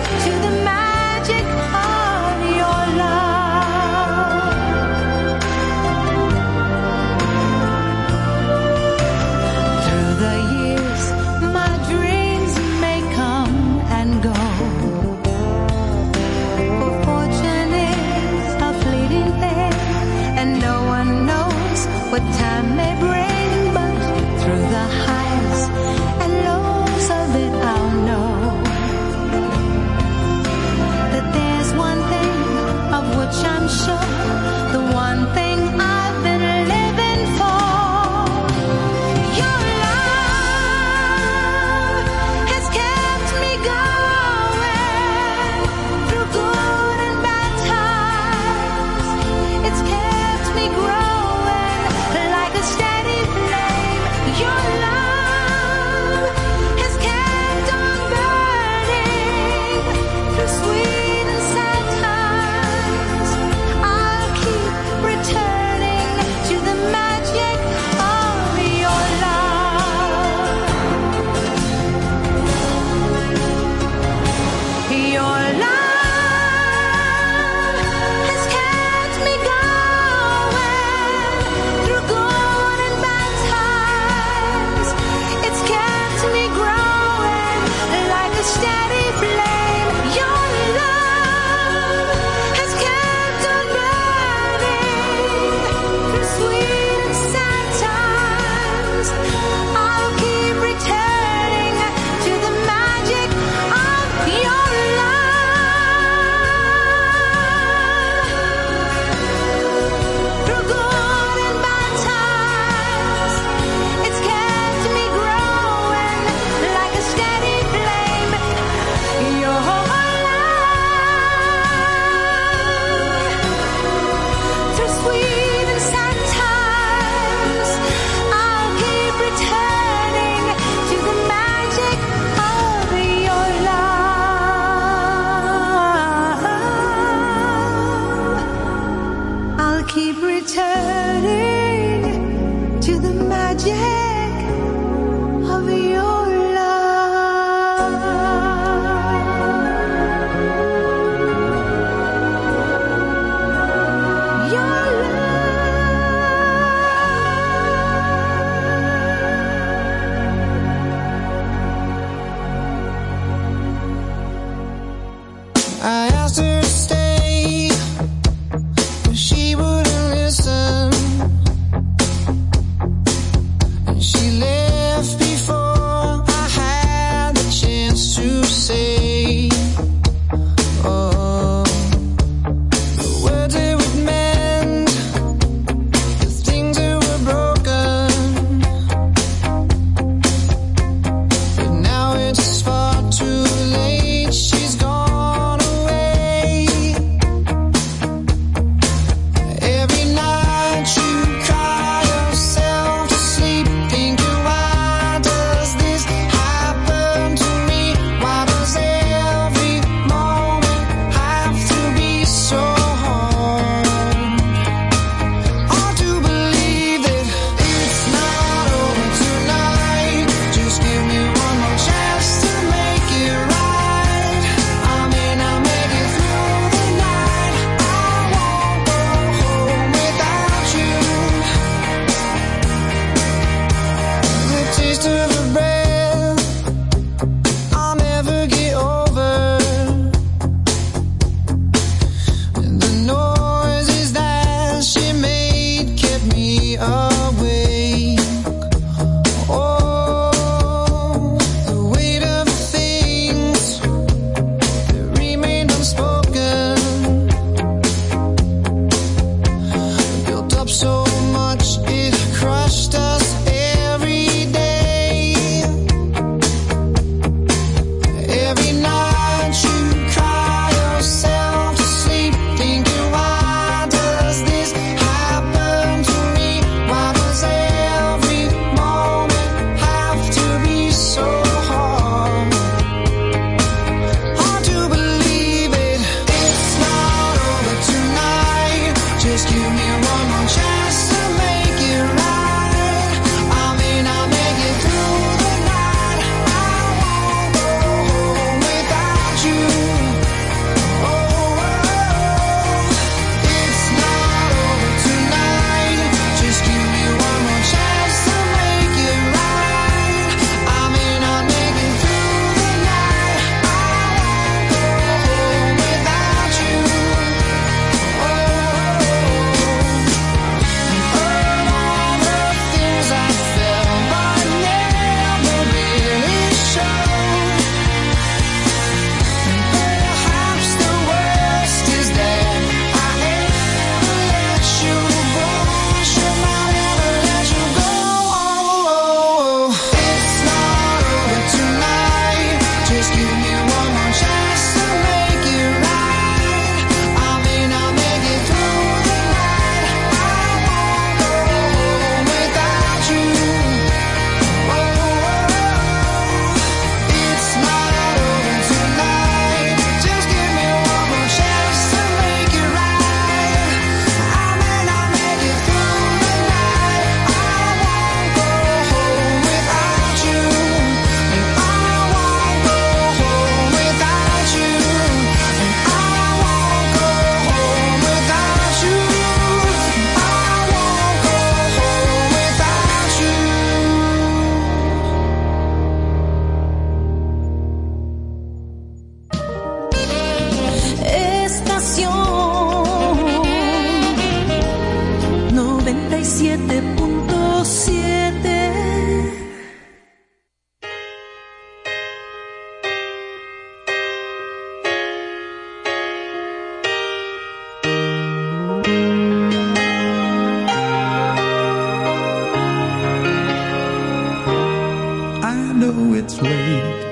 S8: know it's late.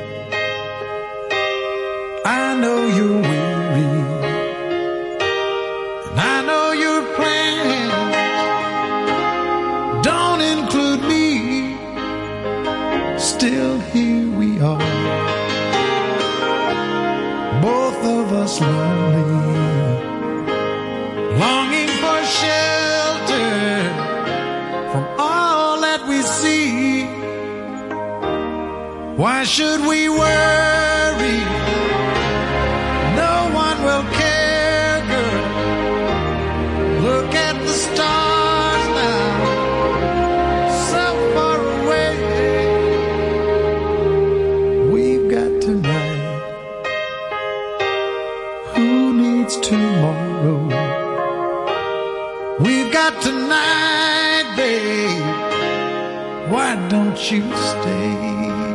S8: I know you're weary. And I know your plans don't include me. Still here we are, both of us lonely, longing for shelter from all that we see. Why should we worry? No one will care, girl. Look at the stars now, so far away. We've got tonight. Who needs tomorrow? We've got tonight, babe. Why don't you stay?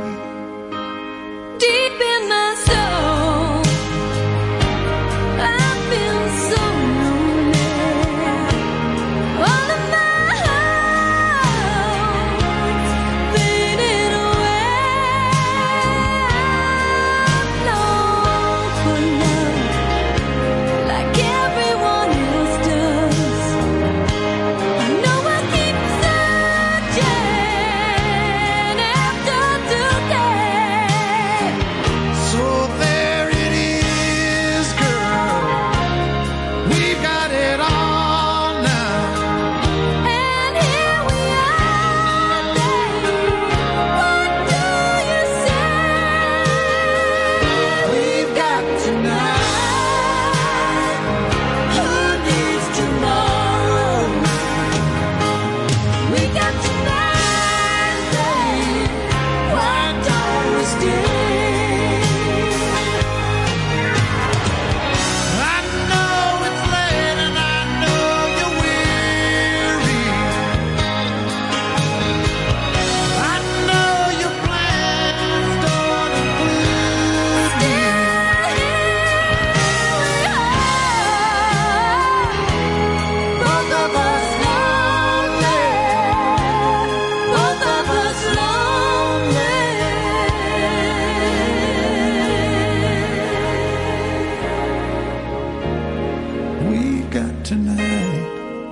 S5: Deep in my soul, I feel so lonely. All of my hopes faded away. I long for love like everyone else does. I know I keep searching after today.
S8: So there it is, girl. We've got it all now.
S5: And here we are, babe. What do you say?
S8: We've got tonight.
S5: Who needs tomorrow? We got tonight, babe. Why don't we stay?
S8: I know it's late and I know you're weary. I know your plans don't include me.
S5: Both of us lonely. Both of us lonely.
S8: We've got tonight.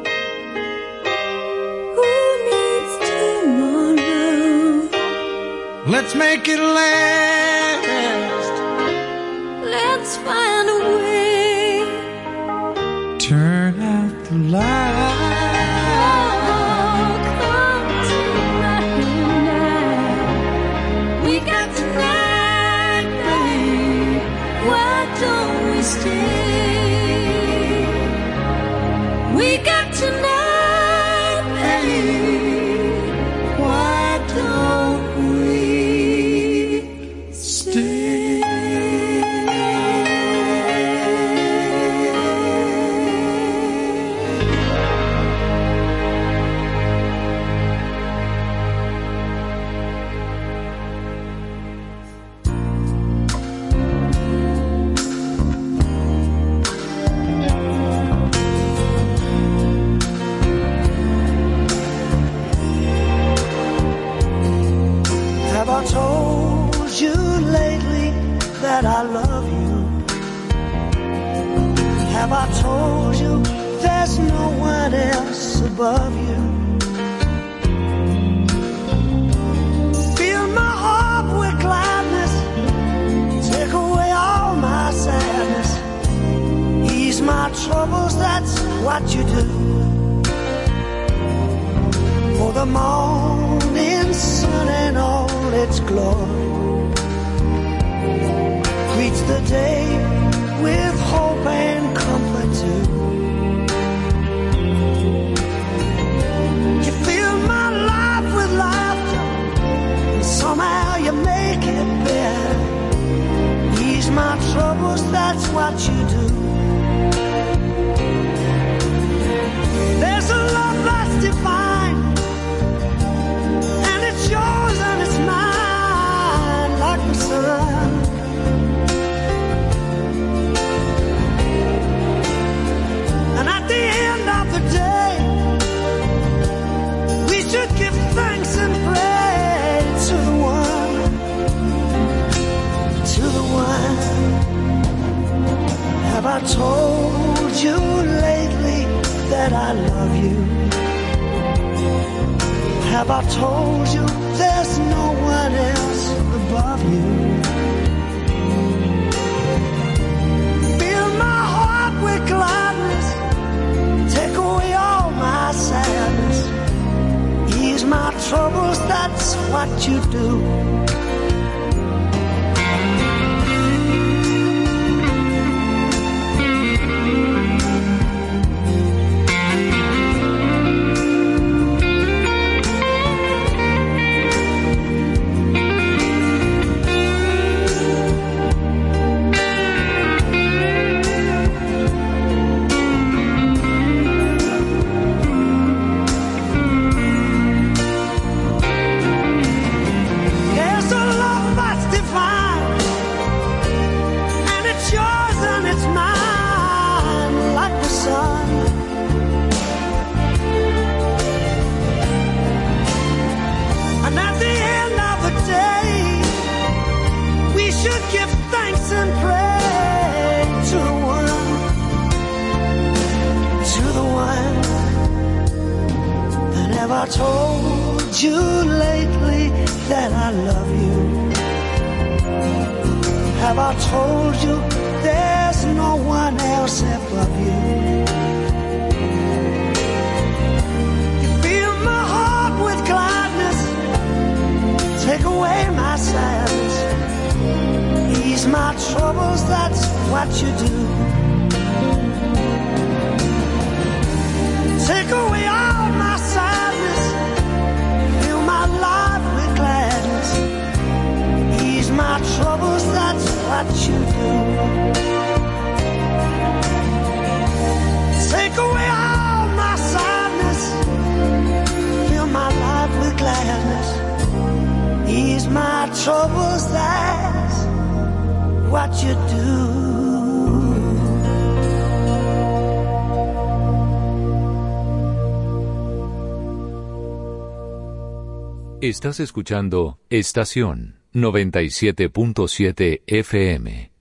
S5: Who needs tomorrow?
S8: Let's make it last.
S5: Let's find a way.
S8: Turn out the light.
S5: Oh, come tonight. We got tonight, babe. Why don't we stay? We got tonight, babe. Why don't we
S1: Have I told you lately that I love you? Have I told you there's no one else above you? Fill my heart with gladness, take away all my sadness, ease my troubles, that's what you do. For the morning sun and all its glory greets the day with hope and comfort too. You fill my life with laughter, and somehow you make it better. Ease my troubles, that's what you do. There's a love that's divine, and it's yours and it's mine, like the sun. And at the end of the day, we should give thanks and praise to the one told you lately that I love you? Have I told you there's no one else above you? Fill my heart with gladness, take away all my sadness, ease my troubles, that's what you do. I told you lately that I love you? Have I told you there's no one else above you? You fill my heart with gladness, take away my sadness, ease my troubles, that's what you do. Take away all my sadness, fill my life with gladness, ease my troubles, that's what you do. Take away all my sadness, fill my life with gladness, ease my troubles, that's what you do.
S9: Estás escuchando Estación 97.7 FM.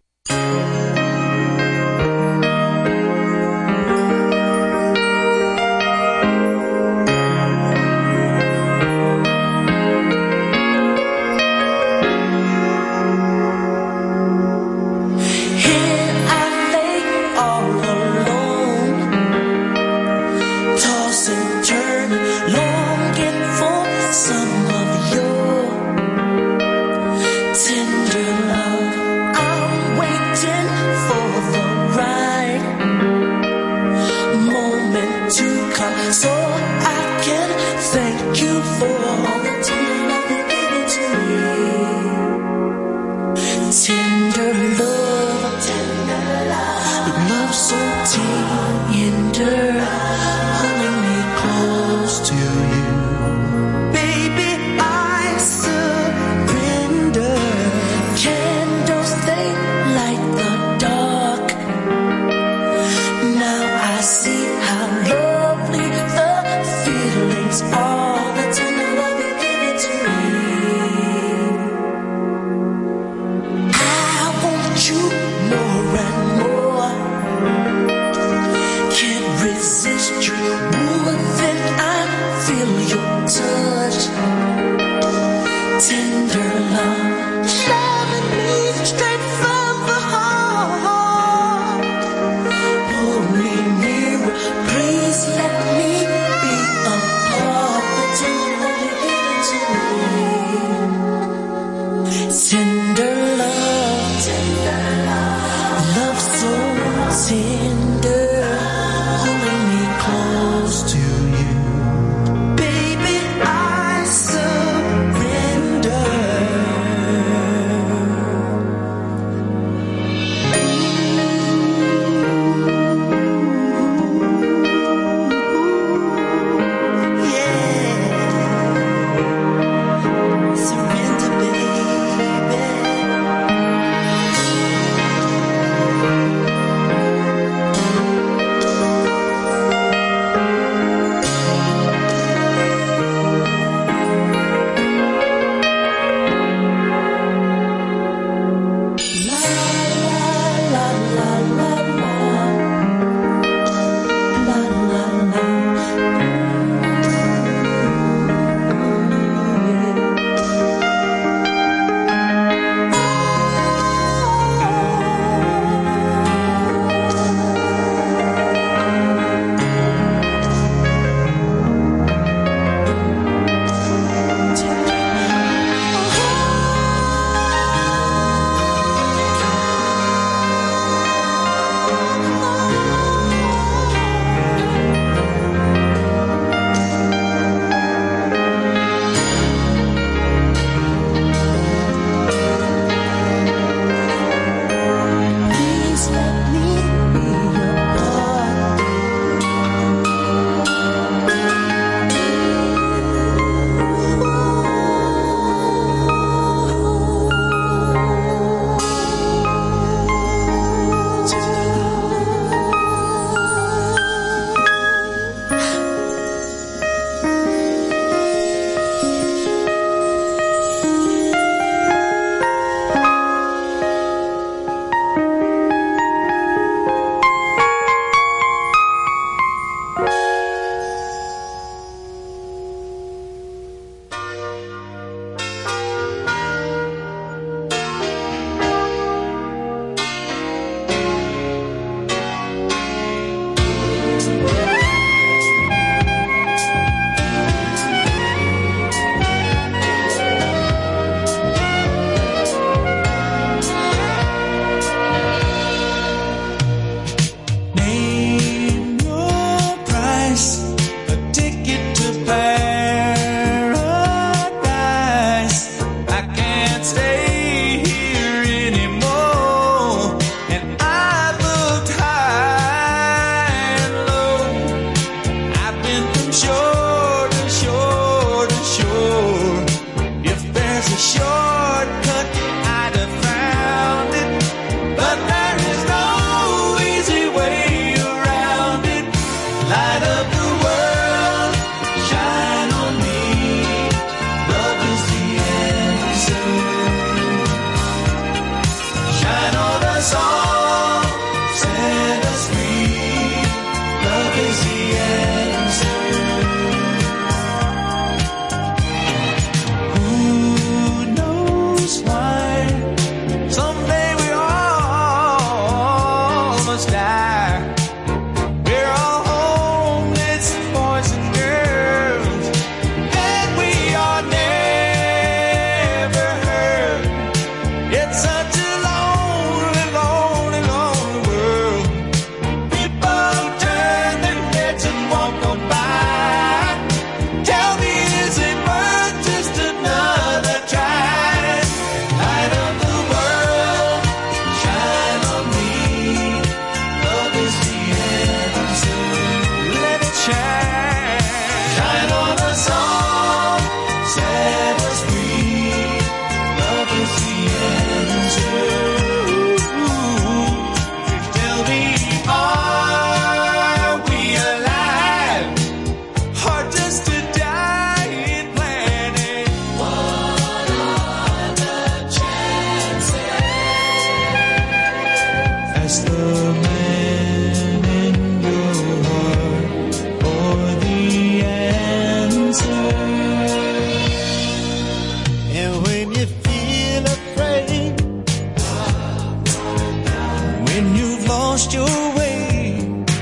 S1: lost your way,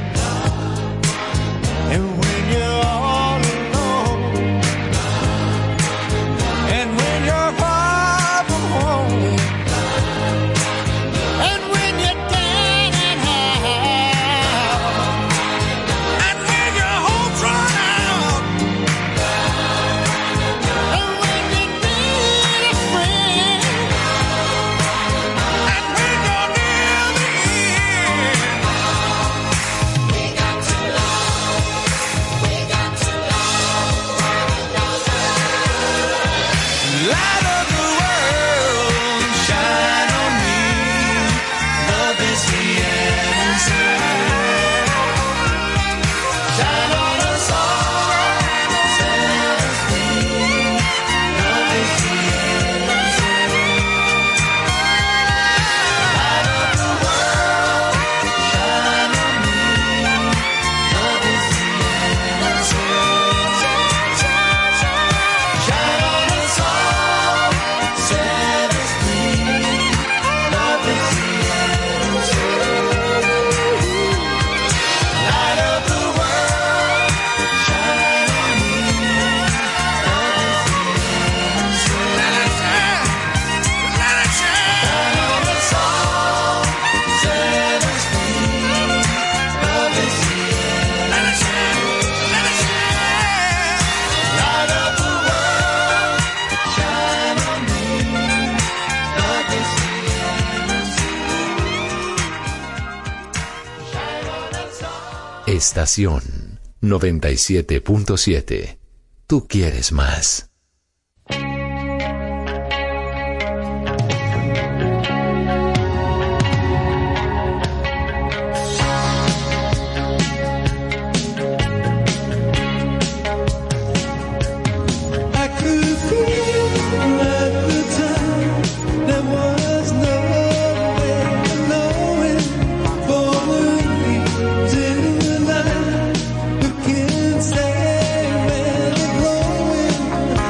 S1: and when you're all alone, and when you're far from home, and when you're down and out, and when your hope's run out, and when you need a friend, and when you're near the end, we got to love, we got to light up the world, shine on me. Love is the answer. Shine on us all, set us free. Love is the answer. Light up the world, shine on me. Love is the answer. Shine on us all, set us free. Love is the answer. Light up the world, shine on me. Love is the answer. Let it shine, let it shine. Shine on us all, set us free. Love is the answer. Let it shine, let it shine. Light up the world, shine on me. Love is the answer. Shine on us all.
S9: Estación 97.7. Tú quieres más.
S1: I could feel at the time there was no way of knowing. Forwardly to the night, you can stay where they're growing.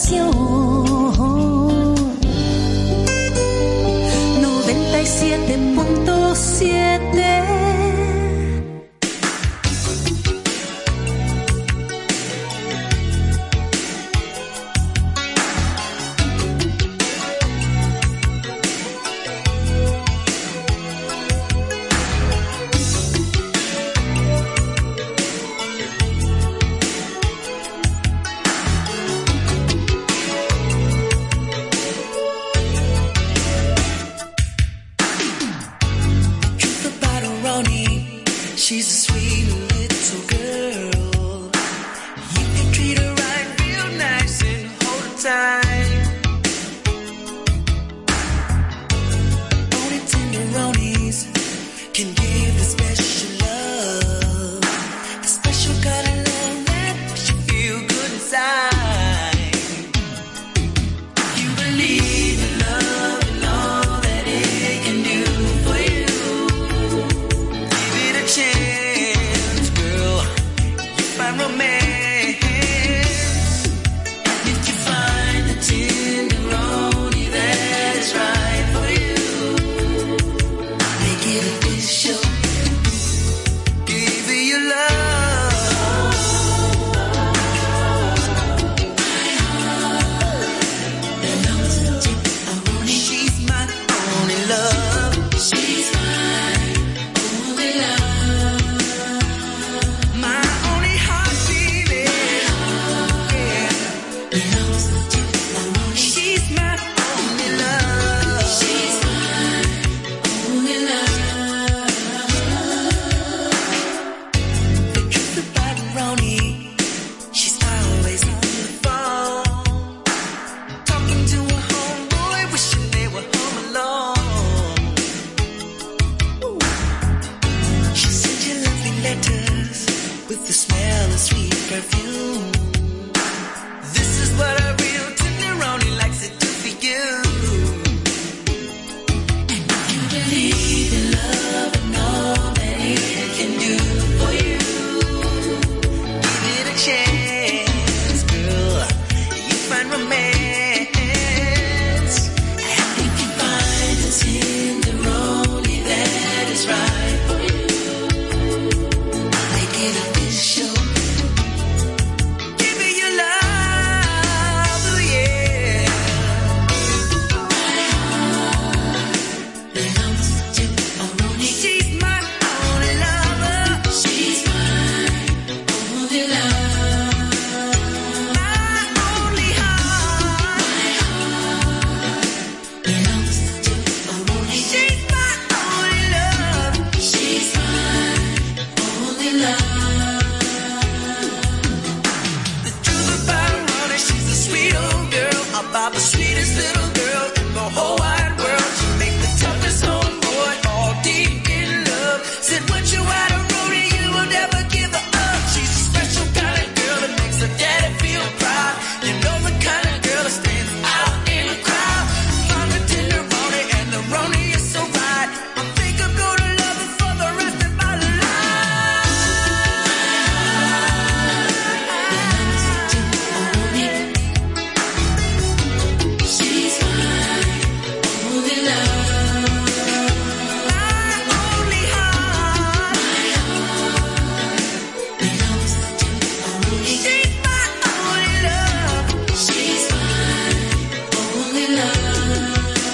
S5: estación 97.7.
S1: She's a sweet little girl. You can treat her right, real nice, and hold her tight. Only tenderonis can give the special love, the special kind of love that makes you feel good inside. You believe in love and all that it can do for you. Give it a chance, girl. You find romance, and if you find the tenderoni that is right for you, make it official. Give it your love. She's my only love. She's my only love. My only heart beating. Yeah. She's my only love. She's my only love. The truth about Ronnie, she's always on the phone, talking to a homeboy, wishing they were home alone. She sent you lovely letters with the smell of sweet perfume. This is what a real tenderoni likes to do for you. And if you believe in love and all that it can do for you, give it a chance, girl. You find romance, and if you find the tenderoni that is right for you, make it official. Give me your love, oh yeah. My heart belongs to Ronnie. She's my only lover. She's my only love. My only heart. My heart belongs to Ronnie. She's my only love. She's my only love. The truth about Ronnie, she's a sweet old girl, about the sweetest little girl in the whole wide world. She make the toughest homeboy all deep in love. Said once you out of Ronnie, you will never give her up. She's a special kind of girl that makes her daddy feel proud. You know the kind of girl that stands out in a crowd. Found the tenderoni and the Ronnie is so right. I think I'm gonna love her for the rest of my life. She's my only love. My only heart. My heart belongs to Ronnie. She's my only love. She's my only love.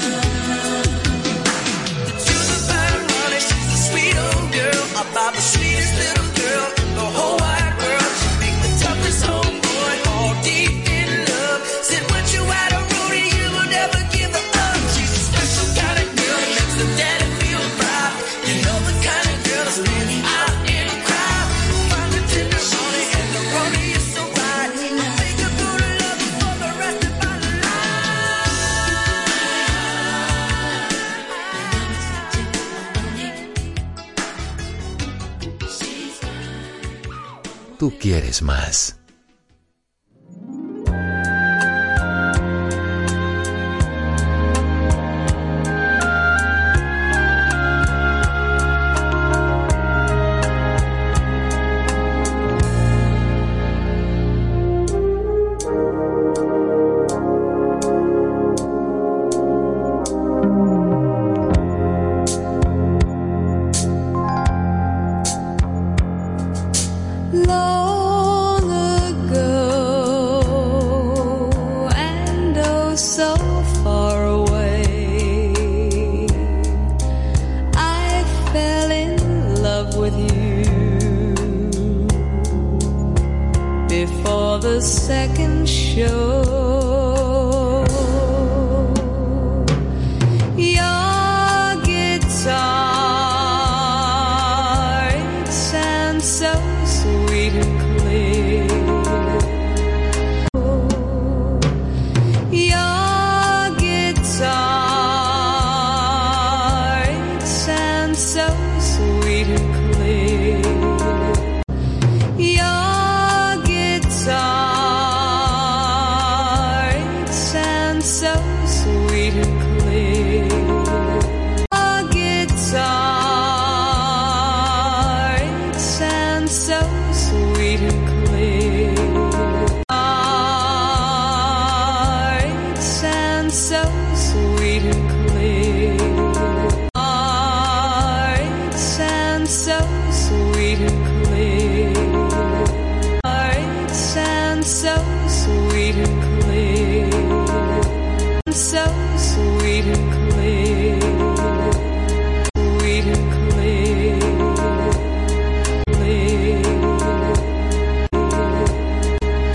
S1: The truth about Ronnie, she's a sweet old girl, about the sweetest little girl in the whole wide world. She make the toughest homeboy all deep in love. Said once you out of Ronnie, you will never give her up. She's a special kind of girl that makes the daddy feel proud. You know the kind of girl that stands out in a crowd. Find the tenderoni and the Ronnie is so right. I think I'm gonna love her for the rest of my life.
S9: Tú quieres más.
S11: second show.